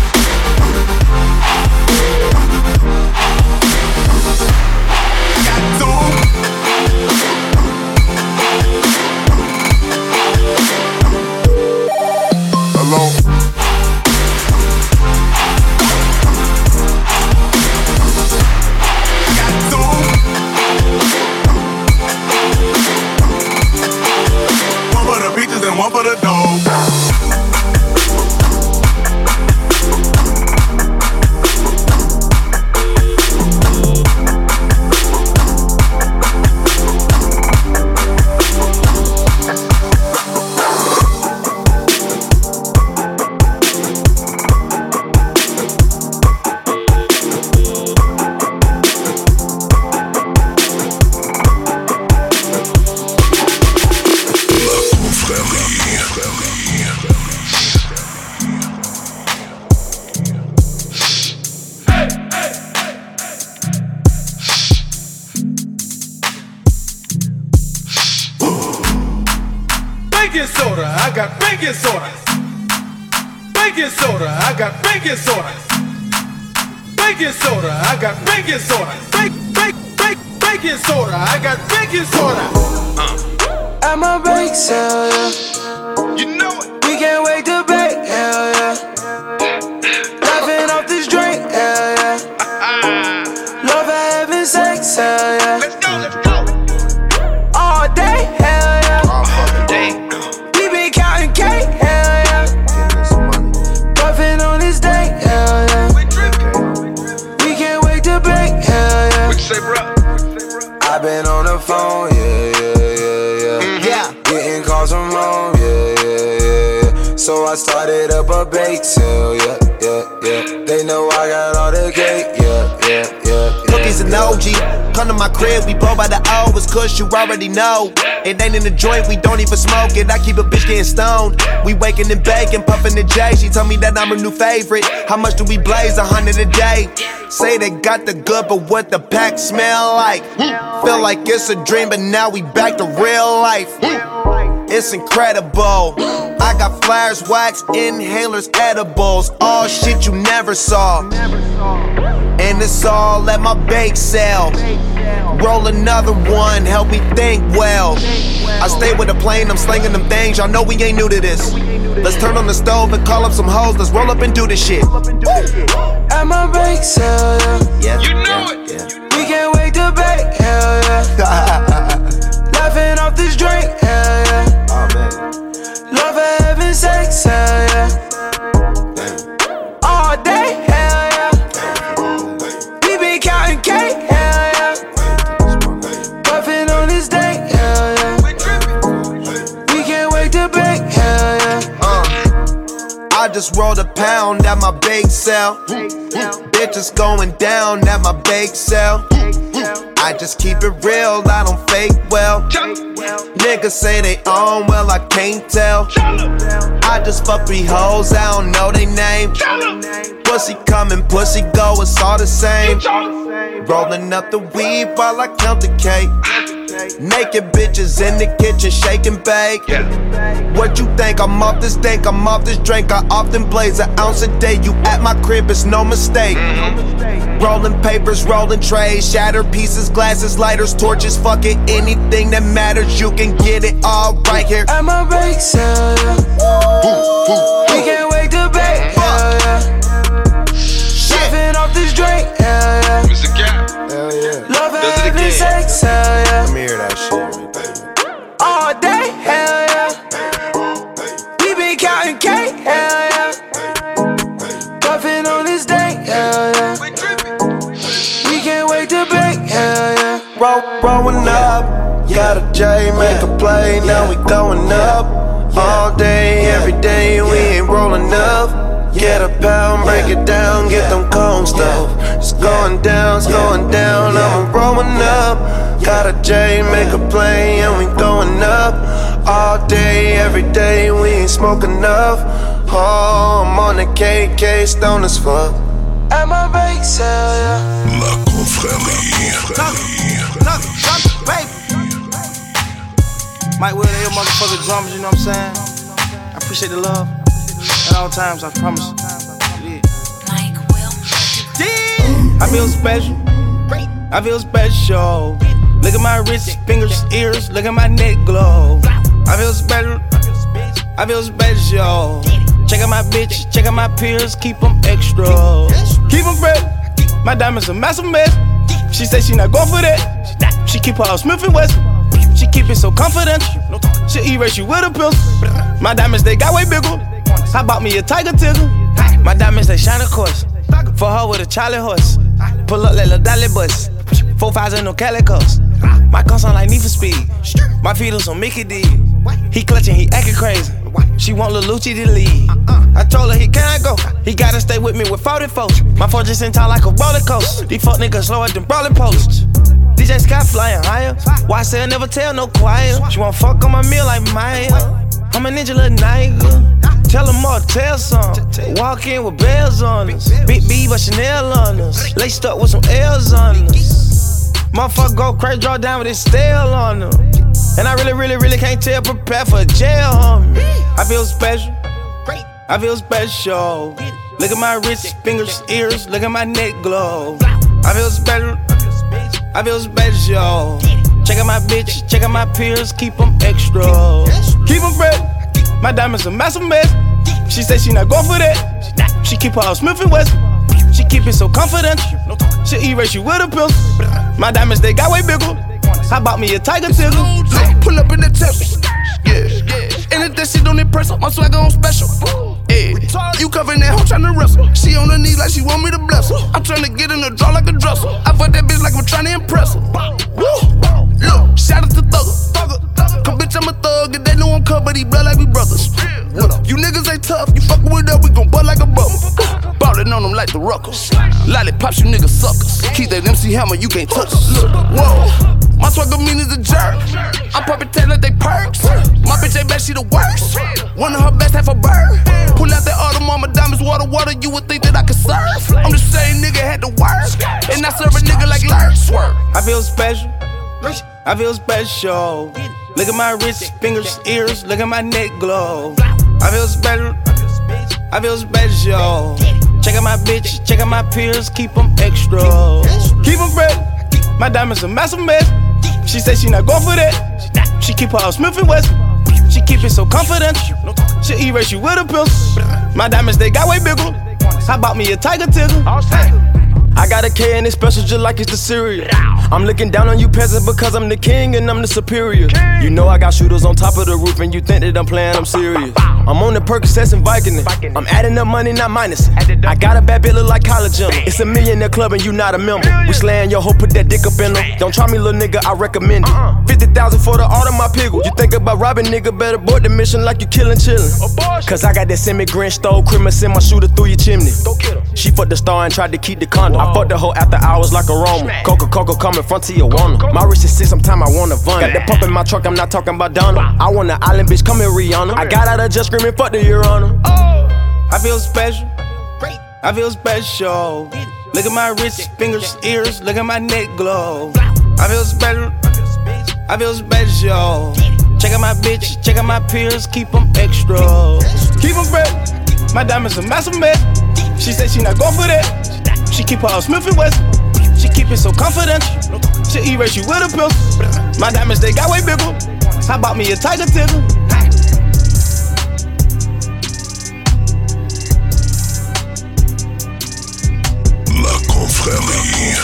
One for the dog. Baking soda, I got baking soda. Baking soda, I got baking soda. Baking soda, I got baking soda. Baking soda, I got baking soda. At my bake sale, yeah. You know it. We can't wait to bake, hell yeah. Laughing off this drink, hell yeah. Love for having sex, hell yeah. Let's go, let's go. All day, hell yeah. All fucking day. We been counting cake, hell yeah. Puffin' on this day, hell yeah. We can't wait to bake, hell yeah. What you say, bro? I been on the phone, yeah. Getting calls from home, yeah. So I started up a bake sale, yeah. They know I got all the cake, yeah. Cookies and OG, come to my crib, we blow by the O. It's kush, you already know. It ain't in the joint, we don't even smoke it. I keep a bitch getting stoned. We waking and baking, puffing the J. She told me that I'm her new favorite. How much do we blaze? 100 a day. Say they got the good, but what the pack smell like? Feel like it's a dream, but now we back to real life. It's incredible. I got flares, wax, inhalers, edibles. All shit you never saw. And it's all at my bake sale. Roll another one, help me think well. I stay with a plane, I'm slinging them things. Y'all know we ain't new to this. Let's turn on the stove and call up some hoes. Let's roll up and do this shit. At my bake sale, yeah. You know it. We can't wait to bake, hell yeah. Laughing off this drink, hell yeah. Oh man. Love for having sex, hell yeah. All day, hell yeah. We been counting cake, hell yeah. Puffin' on this day, hell yeah. We can't wait to bake, hell yeah. I just rolled a pound at my bake sale. Bitches going down at my bake sale. I just keep it real, I don't fake well. Niggas say they own, well I can't tell. I just fuck 3 hoes, I don't know they name. Pussy coming, pussy go, it's all the same. Rolling up the weed while I count the cake. Naked bitches in the kitchen, shake and bake. What you think? I'm off this dank, I'm off this drink. I often blaze an ounce a day. You at my crib, it's no mistake. Rolling papers, rolling trays, shattered pieces, glasses, lighters, torches, fuck it, anything that matters, you can get it all right here. At my bake sale, yeah. We can't wait to bake, yeah. Sipping off this drink, yeah. Mr. Cap. Hell yeah. Love having sex, hell yeah. Let me hear that shit, baby. All day, hell yeah. We been counting cake, hell yeah. Puffin' on this day, hell yeah. We can't wait to bake, hell yeah. Rolling up, got a J, make a play, now we going up. All day, every day, we ain't rolling up. Get a pound, break it down, get them cones stuff. It's going down, I'm rolling up. Got a J, make a play, and we going up. All day, every day, we ain't smoking enough. Oh, I'm on the KK, stone as fuck. At my bake sale, yeah. La confrérie. Baby. Mike Will, they your motherfucking drummers, you know what I'm saying? I appreciate the love at all times, I promise. Yeah. Mike Will. I feel special. I feel special. Look at my wrist, fingers, ears, look at my neck glow. I feel special. I feel special. Check out my bitch, check out my peers, keep them extra. Keep them fresh. My diamonds a massive mess. She say she not going for that. She keep her Smith & Wesson. She keep it so confidential. She erase you with a pistol. My diamonds, they got way bigger. I bought me a tiger tickle. My diamonds, they shine, of course. For her with a Charlie horse. Pull up like a dolly bus. 4 5s and no calicos. My car sound like Need for Speed. My feet on Mickey D. He clutching, he acting crazy. She want Lil Lucci to lead. I told her he can't go. He gotta stay with me with 40 folks. My phone just in town like a roller coaster. These fuck niggas slower than brawling posts. DJ Scott flying higher. Why I say I never tell no choir. She want fuck on my meal like Maya. I'm a ninja little nigga. Tell them all, tell some. Walk in with bells on us. Big B but Chanel on us. Laced up with some L's on us. Motherfucker go crazy, draw down with his stale on them. And I really can't tell, prepare for jail, homie. I feel special. I feel special. Look at my wrist, fingers, ears, look at my neck glow. I feel special. I feel special. Check out my bitch, check out my peers, keep them extra. Keep them fresh. My diamonds a massive mess. She say she not going for that. She keep her Smith & Wesson. She keep it so confidential. She erase you with a pistol. My diamonds, they got way bigger. I bought me a tiger tickle. Pull up in the temple. Yeah. And that shit don't impress her. My swagger on special. Yeah. You covering that hoe tryna wrestle. She on her knees like she want me to bless her. I'm tryna get in the draw like a dresser. I fuck that bitch like I'm tryna impress her. Woo. Look, shout out to Thugger. Come bitch, I'm a thug and they know I'm cut, but he blood like we brothers. You niggas ain't tough, you fuckin' with us, we gon' butt like a bubble. Ballin' on them like the Ruckers. Lollipops, you niggas suckers. Keep that MC Hammer, you can't touch us. Whoa, my swagger mean is a jerk. I'm poppin' tail like they perks. My bitch ain't bad, she the worst. One of her best, half a bird. Pull out that Audemars diamonds, water, you would think that I could surf. I'm the same nigga, had to work. And I serve a nigga like Lurk. Swerve. I feel special. I feel special. Look at my wrist, fingers, ears, look at my neck glow. I feel special. I feel special. Check out my bitch, check out my peers, keep them extra. Keep them fresh. My diamonds a massive mess. She say she not going for that. She keep her Smith & Wesson. She keep it so confidential. She erase you with a pistol. My diamonds, they got way bigger. I bought me a tiger tickle. I got a K and it's special just like it's the cereal. I'm looking down on you peasants because I'm the king and I'm the superior. You know I got shooters on top of the roof and you think that I'm playing, I'm serious. I'm on the Percocets and Vicodin. I'm adding up money, not minus. I got a bad bitch look like collagen. It's a millionaire club and you not a member. We slaying your hoe, put that dick up in her. Don't try me, little nigga, I recommend it. 50,000 for the art of my pickle. You think about robbing, nigga, better board the mission like you killin' chillin'. Cause I got that semi-Grinch, stole Christmas, send my shooter through your chimney. She fucked the star and tried to keep the condom. I fucked the hoe after hours like a Roman. Coca-Cola coming front to Tijuana. My wrist is 6, sometime I wanna vun. Got that pump in my truck, I'm not talking about Donna. I want an island bitch, come here, Rihanna. I got out of just screaming, fuck the Your Honor. I feel special. I feel special. Look at my wrist, fingers, ears, look at my neck glow. I feel special. I feel special. Check out my bitch, check out my peers, keep them extra. Keep them fresh. My diamonds a massive mess. She said she not going for that. She keep her Smith & Wesson. She keep it so confidential. She erase you with a pistol. My diamonds, they got way bigger. How about me a tiger tickle? La confrérie.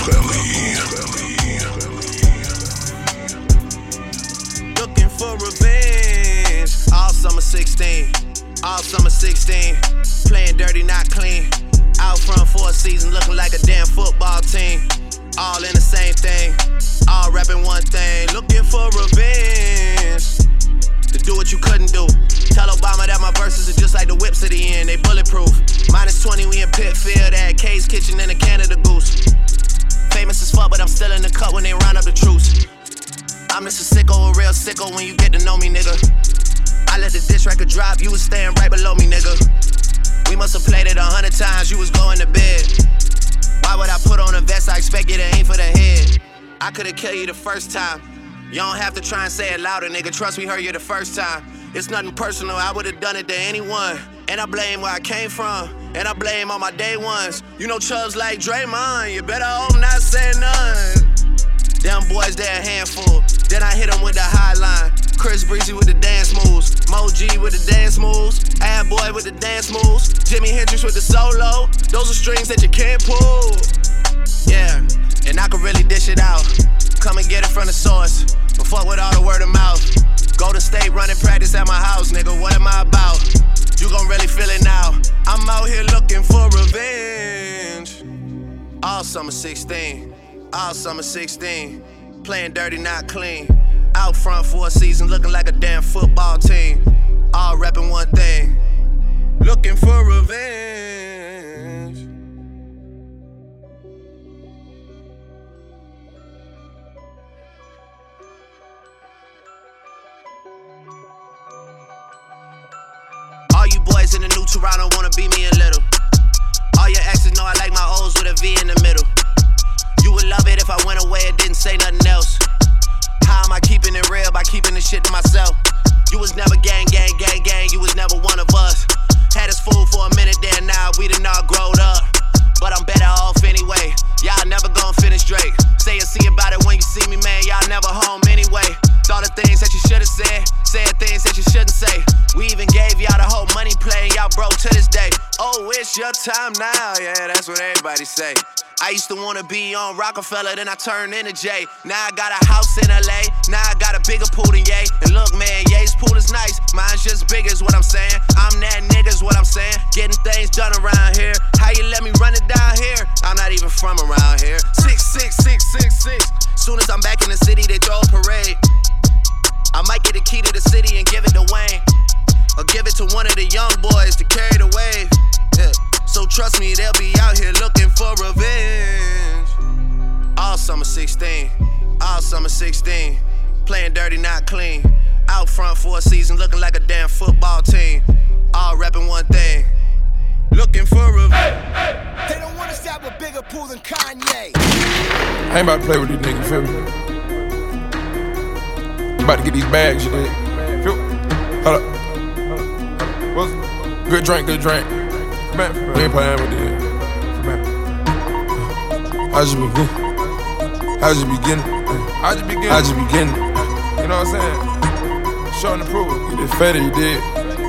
Looking for revenge. All summer 16. All summer 16. Playing dirty, not clean. Out front for a season, looking like a damn football team. All in the same thing. All rapping one thing. Looking for revenge. To do what you couldn't do. Tell Obama that my verses are just like the whips at the end. They bulletproof. -20, we in Pitfield at Kay's Kitchen and a Canada Goose. Famous as fuck, but I'm still in the cut when they round up the troops. I'm just a sicko, a real sicko when you get to know me, nigga. I let the diss record drop, you was staying right below me, nigga. We must have played it 100 times, you was going to bed. Why would I put on a vest? I expect you to aim for the head. I could've killed you the first time. You don't have to try and say it louder, nigga. Trust me, heard you the first time. It's nothing personal, I would've done it to anyone. And I blame where I came from, and I blame all my day ones. You know Chubbs like Draymond, you better hope not say none. Them boys, they're a handful. Then I hit them with the high line. Chris Breezy with the dance moves. Mo G with the dance moves. Ad Boy with the dance moves. Jimi Hendrix with the solo. Those are strings that you can't pull. Yeah, and I can really dish it out. Come and get it from the source. But fuck with all the word of mouth. Golden State running practice at my house, nigga. What am I about? You gon' really feel it now. I'm out here looking for revenge. All summer 16. All summer 16. Playing dirty, not clean. Out front for a season, looking like a damn football team. All repping one thing. Looking for revenge. All you boys in the new Toronto wanna be me a little. All your exes know I like my O's with a V in the middle. You would love it if I went away and didn't say nothing else. How am I keeping it real? By keeping this shit to myself. You was never gang, gang, gang, gang. You was never one of us. Had us fooled for a minute there, now we done all growed up. But I'm better off anyway. Y'all never gon' finish Drake. Say and see about it when you see me, man. Y'all never home anyway. Thought of things that you should've said. Said things that you shouldn't say. We even gave y'all the whole money play, and y'all broke to this day. Oh, it's your time now. Yeah, that's what everybody say. I used to wanna be on Rockefeller, then I turned into Jay. Now I got a house in LA, now I got a bigger pool than Ye. And look, man, Ye's pool is nice, mine's just big is what I'm saying. I'm that nigga's what I'm saying. Getting things done around here. How you let me run it down here? I'm not even from around here. 66666. Soon as I'm back in the city, they throw a parade. I might get the key to the city and give it to Wayne, or give it to one of the young boys to carry the wave. Yeah. So trust me, they'll be out here looking for revenge. All summer 16, all summer 16. Playing dirty, not clean. Out front for a season, looking like a damn football team. All repping one thing. Looking for revenge. They don't want us to have a bigger pool than Kanye. I ain't about to play with these niggas, feel me? I'm about to get these bags, you dig? Feel? Hold up. What's good drink, good drink. Man, we ain't playing with this. I just be good. I just beginning. I just beginning. You know what I'm saying? Showing the proof. You did fatter, you did.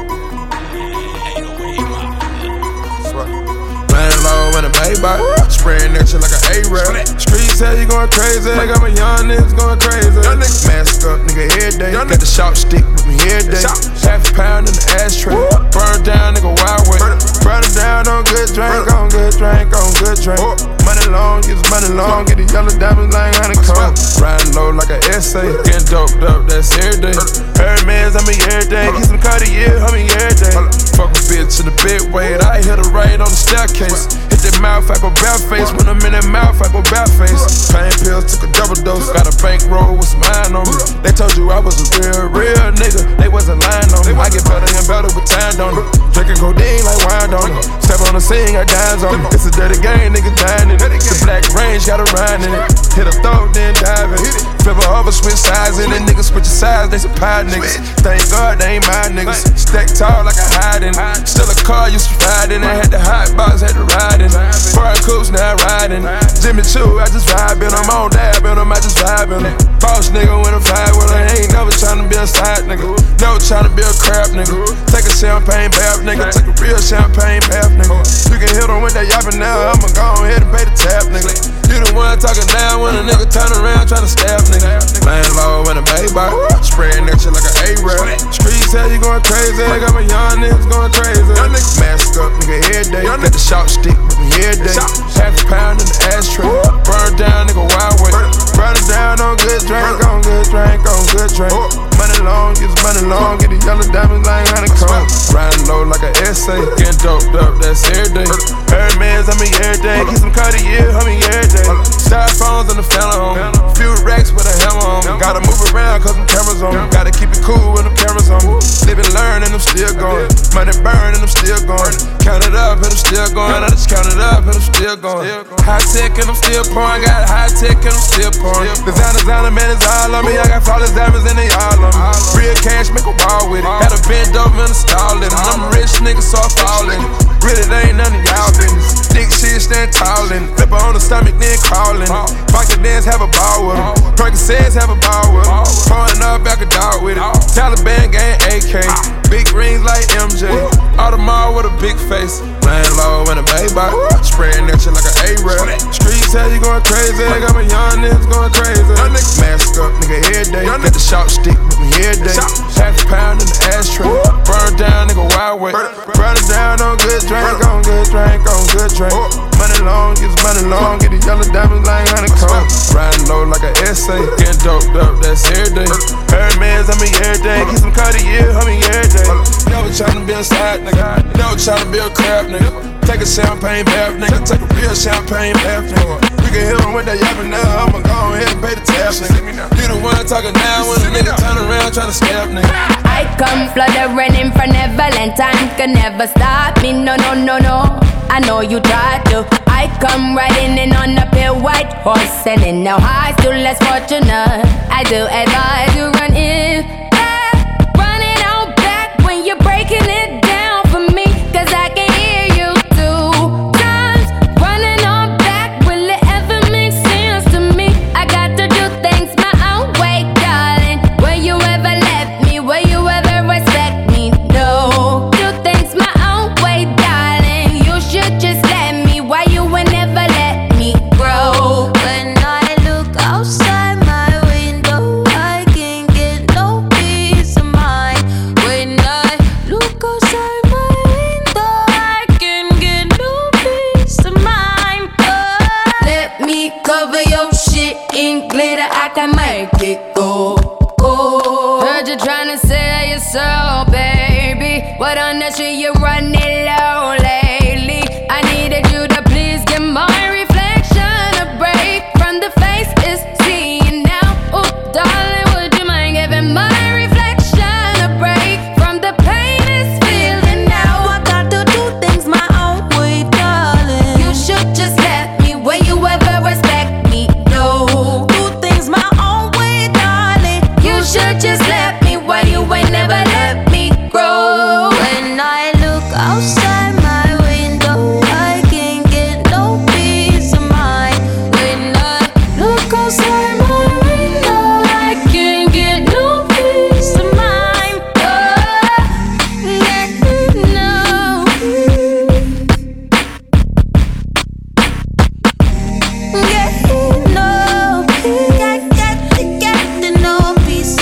Playing low in a Maybach, spraying that shit like an A-Rap. Streets tell you going crazy, like I'm a young niggas going crazy. Mask up, nigga, every day. Got the sharp stick with me every day. Half a pound in the ashtray. Burn down, nigga, wild way. Burn it down on good drink, on good drink, on good drink. Money long, get money long, get the yellow diamonds like honeycomb. Riding low like an essay, getting doped up, that's every day. Hermes, I mean every day. Get some Cartier, I mean every day. Fuck a bitch in the bed weight, I hit her right on the staircase. Hit that mouth, I go bare face. When I'm in that mouth, I go bare face. Pain pills, took a double dose. Got a bankroll with some iron on me. They told you I was a real nigga. They wasn't lying on me. I get better and better with time on it. Drinking codeine like wine on it. Step on the scene, got dimes on it. It's a dirty game, nigga dying in it. The black range got a ride in it. Hit a throat, then dive in it. Flip her over, switch sides in it. Niggas switch your sides, they some pie niggas. Thank God they ain't my niggas. Stack tall like a hiding. Still a car used to ride in. I had the hot box, had to ride in. Foreign coops, now riding. Jimmy Choo, I just vibe in. I'm on dab in them, I just vibe in them. Boss nigga with a vibe with her. Ain't never tryna be a side nigga. Never tryna be a crap nigga. Take a champagne bath nigga. Take a real champagne bath nigga. You can hit them with that yapping now. I'ma go ahead and pay the tab nigga. You the one talking down when a nigga turn around tryna stab nigga. Landlord with a baby. Spraying that shit like an A-rap. Streets tell you going crazy. I got my young niggas going crazy. Mask up nigga every day. Got the sharp stick with me every day. Half a pound in the ashtray. Burn down nigga wild way. Run it down on good drink, on good drink, on good drink. Money long, get money long. Get the yellow diamonds like honeycomb. Riding low like an essay. Getting doped up, that's every day. Every man's on me every day. Keep some Cartier, homie every day. Styrofoams on the Phantom. Few racks with a hammer on me. Gotta move around cause them cameras on me. Gotta keep it cool when them cameras on me. Live and learn and I'm still going. Money burn and I'm still going. Count it up and I'm still going. I just count it up and I'm still going. High tech and I'm still pouring. Got high tech and I'm still pouring. Designer, man, it's all on me. I got flawless diamonds and they all on me. Real cash, make a ball with it. Had a bend over and install it. I'm a rich nigga, so I fall in it. Really, they ain't none of y'all business. Dick shit, stand tall in it. Flip her on the stomach, then crawling. Pocket dance, have a ball with them. Percocets, have a ball with them. Pouring up, back a dog with it. Taliban gang, AK. Big rings like MJ. Audemars with a big face. Landlord and a baby. Spraying that shit like an A-rap. Streets tell you going crazy. I got my young niggas going crazy. Mask up, nigga, every day. Got the sharp stick with me every day. Half a pound in the ashtray. Burn down, nigga, wild way. Run it down on good drink, on good drink, on good drink. Money long, get money long. Get the yellow diamonds like honeycomb. Riding low like an essay. Getting doped up, that's every day. Every man's on me every day. Keep some Cartier, homie every day. Never tryna be a side nigga. Never tryna be a crap nigga. Take a champagne bath nigga. Take a real champagne bath nigga. We can hit him with that yapping now. I'ma go ahead and pay the tab nigga. You the one talking down when a nigga turn around tryna stab nigga. I come fluttering from Neverland. Time can never stop me. No, no, no, no. I know you tried to. I come riding in on a pale white horse, and in no high, still less fortunate. I do advise you run in, running out back when you're breaking it down for me, cause I can hear you 2 times. Running on back, will it ever make sense to me? I got to do things my own way, darling. Will you ever let me? Will you ever respect me? No. Do things my own way, darling. You should just let me. Why you would never let me grow? When I look outside my window, I can't get no peace of mind. When I look outside my window, I can't get no peace of mind. Let me cover your shit in glitter. I can make it go. Heard you tryna sell your soul, baby. What on that shit you running low lately? I needed you to please give my reflection a break from the face it's seeing now. Oh, darling, would you mind giving my reflection a break from the pain it's feeling now? I got to do things my own way, darling. You should just let me. Will you ever respect me? No. Do things my own way, darling. You should just let me. Why you ain't never let me grow? When I look outside my window, I can't get no peace of mind. When I look outside my window, I can't get no peace of mind. No. Get no peace.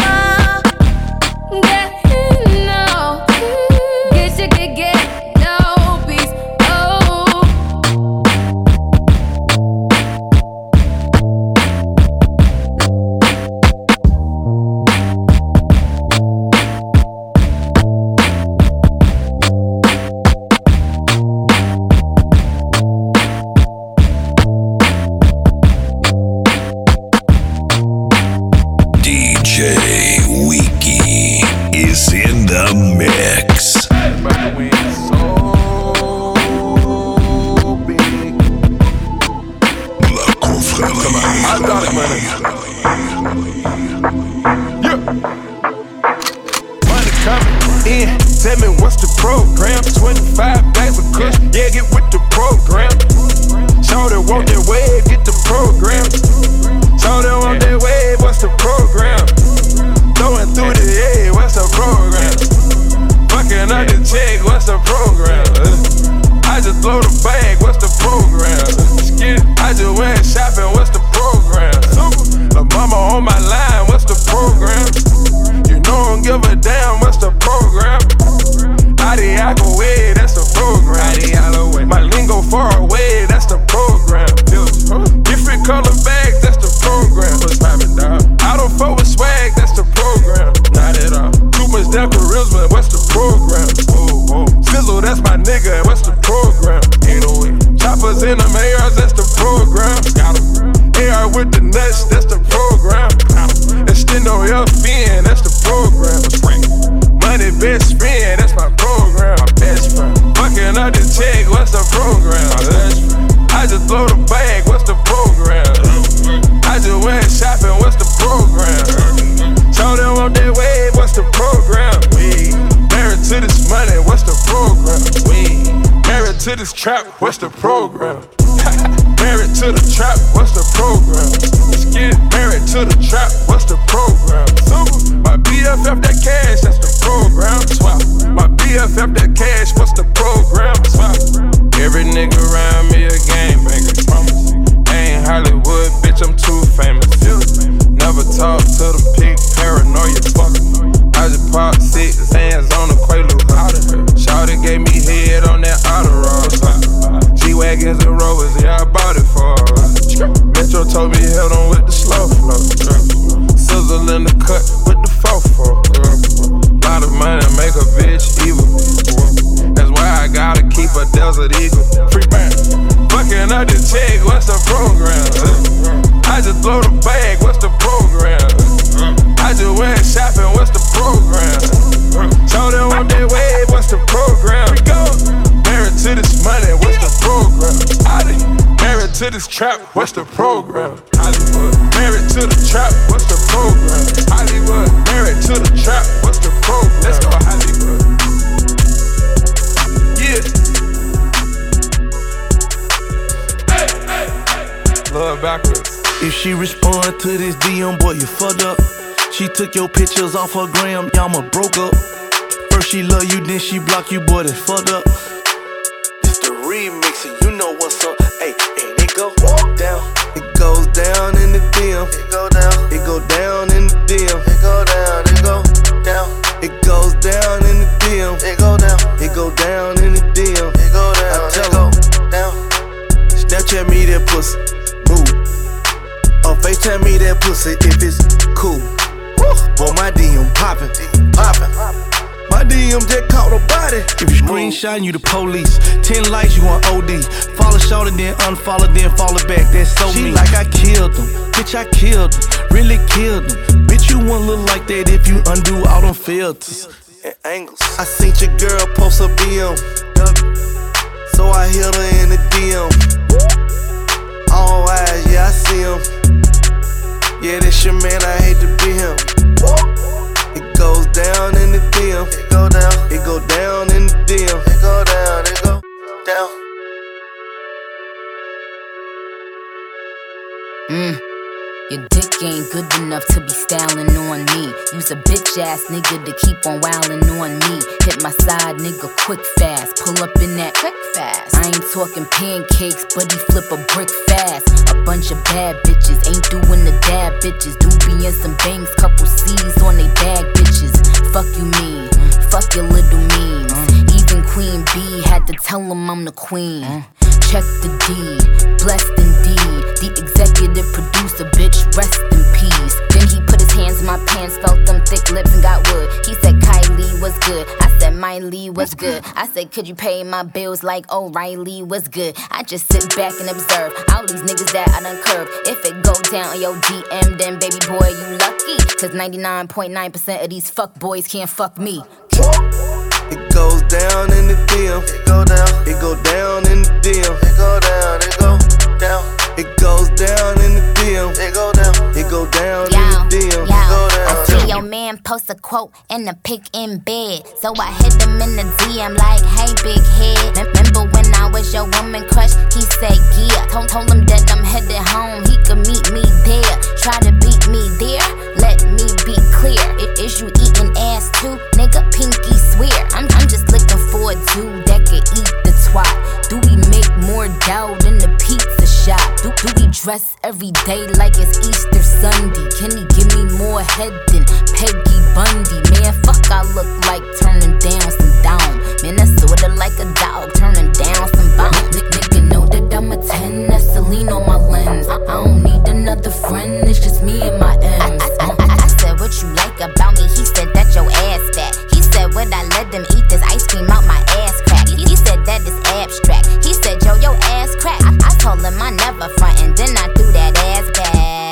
DJ Wiki is in the mix. I got it, man. Yeah, get with the program. Shawty want that wave, get the program. Shawty want that wave, what's the program? Throwing through the air, what's the program? Fucking out the check, what's the program? I just throw the bag, what's the program? I just went shopping, what's the program? La mama on my line, what's the program? You know I don't give a damn, what's the program? Adiago way, that's the program. My lingo far away, that's the program. Different color bags, that's the program. I don't fuck with swag, that's the program. Not at all. Too much damn charisma, what's the program? Sizzle, that's my nigga, what's the program? Choppers in them ARs, that's the program. AR with the nuts, that's the program. Extendo FN, that's the program. Money best friend, that's my program. My best friend. Fucking out the check, what's the program? I just throw the bag, what's the program? I just went shopping, what's the program? Show them on that wave, what's the program? Married to this money, what's the program? Married to this trap, what's the program? Married to the trap, what's the program? Let's get married to the trap, what's the program? My BFF that cash, that's the program. Swap. My BFF that cash, what's the program? Swap. Every nigga around me a gangbanger. Ain't Hollywood, bitch, I'm too famous. Never talk to them pig paranoia. I just popped 6 hands on the Quaalude. Shawty gave me head on that Adderall. G-Wagons and Rovers, yeah, I bought it for her. Metro told me held on with the slow flow. Sizzle in the cut with the fofo. Lot of money make a bitch evil. That's why I gotta keep a Desert Eagle. Free band. Fucking out the check, what's the program? I just throw the bag, what's the program? I just went shopping, what's the program? Show them on that wave, what's the program? Married to this money, what's the program? Married to this trap, what's the program? Hollywood. Married to the trap, what's the program? Hollywood. Married to the trap, what's the program? Let's go Hollywood. Yeah. Love backwards. If she respond to this DM, boy, you fucked up. She took your pictures off her gram, y'all broke up. First she love you, then she block you, boy, that's fucked up. It's the remix and you know what's up. Hey, and it go down. It goes down in the DM. It go down. It go down in the DM. It go down. It go down. It goes down in the DM. It go down. It go down in the DM. It go down. I tell her down. Snapchat me that pussy. Move. Or FaceTime me that pussy if it's cool. Boy, my DM poppin', poppin'. My DM just caught a body. If you screenshot, you the police. 10 likes, you on OD. Follow short and then unfollow, then follow back. That's so mean. She like I killed him. Bitch, I killed him. Really killed him. Bitch, you won't look like that if you undo all them filters and angles. I seen your girl post a BM. So I hit her in the DM. All eyes, yeah, I see him. Yeah, that's your man, I hate to be him. It goes down in the DM. It go down. It go down in the DM. It go down. It go down. Your dick ain't good enough to be styling on me. Use a bitch ass nigga to keep on wildin' on me. Hit my side nigga quick fast. Pull up in that quick fast. I ain't talking pancakes, but he flip a brick fast. A bunch of bad bitches ain't doing the dab bitches. Doobie and some bangs, couple C's on they bag bitches. Fuck you mean, fuck your little means. Even Queen B had to tell him I'm the queen. Check the D, blessed indeed. The executive producer, bitch, rest in peace. Then he put his hands in my pants, felt them thick lips and got wood. He said Kylie was good, I said Miley was good. I said could you pay my bills like O'Reilly was good. I just sit back and observe all these niggas that I done curved. If it go down on your DM, then baby boy you lucky. Cause 99.9% of these fuck boys can't fuck me. It goes down in the DM. It go down. It go down in the DM. It go down. It go down. It goes down in the DM. It go down. It go down in the DM. It go down. I see your Your man post a quote and a pic in bed. So I hit him in the DM like, hey, big head. Remember when I was your woman crush? He said, yeah. Told him that I'm headed home. He could meet me there. Try to beat me there. Let me be clear. Is you eating ass too? Nigga, pinky swear. I'm just looking for a dude that could eat the twat. Do we make more dough than the pizza shop? Do we dress every day like it's Easter Sunday? Can he give me more head than Peggy Bundy? Man, fuck, I look like turning down some down. Man, that's sorta like a dog turning down some bone. Nigga know that I'm a 10, that's Celine on my lens. I don't need another friend, it's just me and my M's. I said, what you like about me? He said that your ass fat. He said, would I let them eat this ice cream out my ass crack? He said that is abstract. He said, yo, your ass crack. I told him I never front, and then I threw that ass back.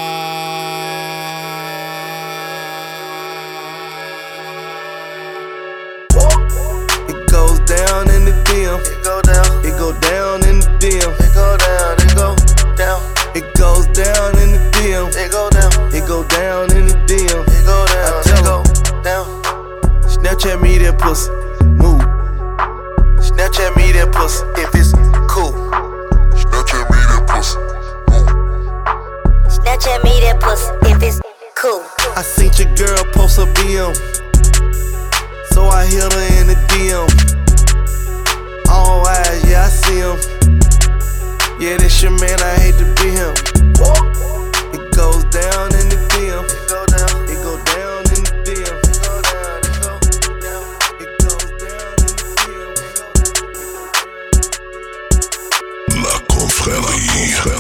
It goes down in the DM. It go down. It go down in the DM. It go down. It go down. It goes down in the DM. It go down. It go down in the DM. It go down. I tell her down. Snapchat me that pussy. Move. Snapchat me that pussy if it's cool. Snapchat me that pussy. Snapchat me that pussy if it's cool. I seen your girl post a BM, so I hit her in the DM. All eyes, yeah, I see him. Yeah, that's your man, I hate to be him. It goes down in the DM. It go down. It go down in the DM. It go down. It go down. It goes down in the DM. La confrérie.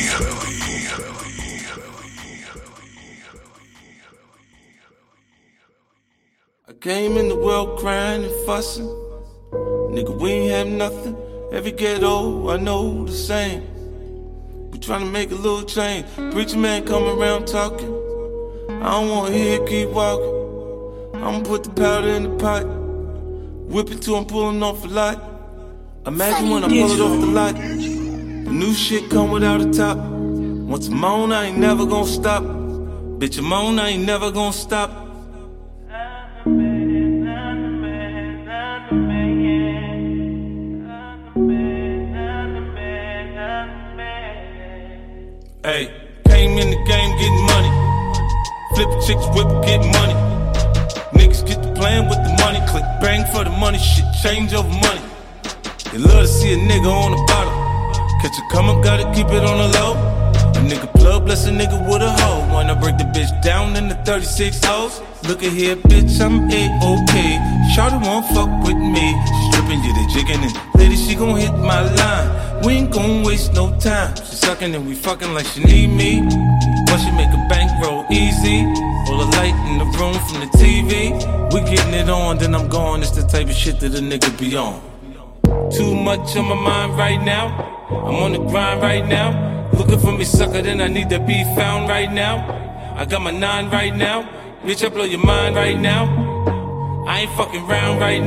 I came in the world crying and fussing. Nigga, we ain't have nothing. Every ghetto, I know the same. We tryna make a little change. Preacher man come around talking. I don't wanna hear it, keep walking. I'ma put the powder in the pot. Whip it till I'm pulling off a lot. Imagine when I pull it off the lot. The new shit come without a top. Once I'm on, I ain't never gonna stop. Bitch, I'm on, I ain't never gonna stop. Hey, came in the game getting money. Flip chicks, whip, get money. Niggas get to playing with the money. Click bang for the money, shit change over money. They love to see a nigga on the bottom. Catch a come up, gotta keep it on the low. A nigga plug, bless a nigga with a hoe. Wanna break the bitch down in the 36 hoes. Look at here, bitch, I'm A-OK. Shawty won't fuck with me. She stripping, you the jigging, and lady, she gon' hit my line. We ain't gon' waste no time. She sucking and we fucking like she need me. Once she make a bankroll easy. All the light in the room from the TV. We getting it on, then I'm gone. It's the type of shit that a nigga be on. Too much on my mind right now. I'm on the grind right now. Looking for me, sucker, then I need to be found right now. I got my 9 right now. Bitch, I blow your mind right now. I ain't fucking round right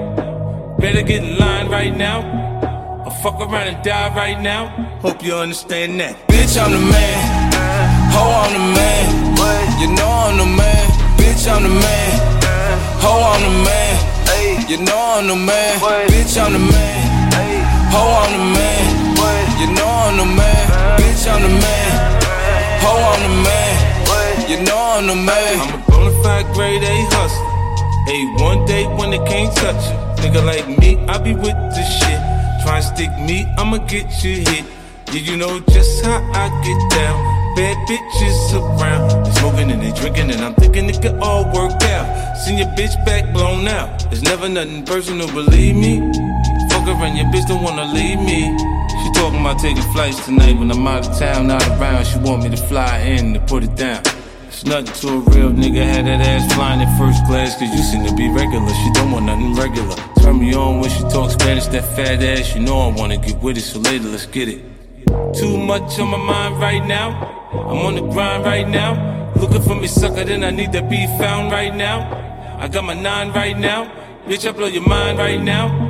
now. Better get in line right now. I'll fuck around and die right now. Hope you understand that. Bitch, I'm the man. Ho, I'm the man. You know I'm the man. Bitch, I'm the man. Ho, I'm the man. You know I'm the man. Bitch, I'm the man. Ho, I'm the man. You know I'm the man. Bitch, I'm the man. Ho, I'm the man. You know I'm the man. I'm a bonafide grade A hustler. Hey, one day when they can't touch it. Nigga like me, I be with this shit. Try and stick me, I'ma get you hit. Yeah, you know just how I get down. Bad bitches around. They smoking and they drinking and I'm thinking it could all work out. Seen your bitch back blown out. There's never nothing personal, believe me. Fuck her and your bitch don't wanna leave me. She talking about taking flights tonight when I'm out of town, not around. She want me to fly in to put it down. It's nothing to a real nigga, had that ass flying in first class. Cause you seem to be regular, she don't want nothing regular. Turn me on when she talks Spanish, that fat ass. You know I wanna get with it, so later let's get it. Too much on my mind right now. I'm on the grind right now. Looking for me, sucker, then I need to be found right now. I got my 9 right now. Bitch, I blow your mind right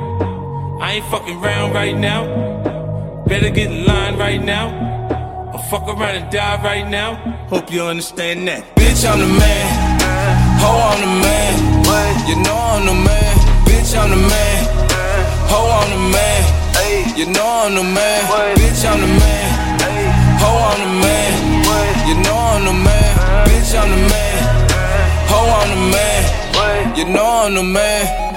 now. I ain't fucking round right now. Better get in line right now. I'll fuck around and die right now. Hope you understand that. Bitch, I'm the man. Ho, I'm the man. You know I'm the man. Bitch, I'm the man. Ho, I'm the man. You know I'm the man. Bitch, I'm the man. Ho, I'm the man. You know I'm the man. Bitch, I'm the man. Ho, I'm the man. You know I'm the man.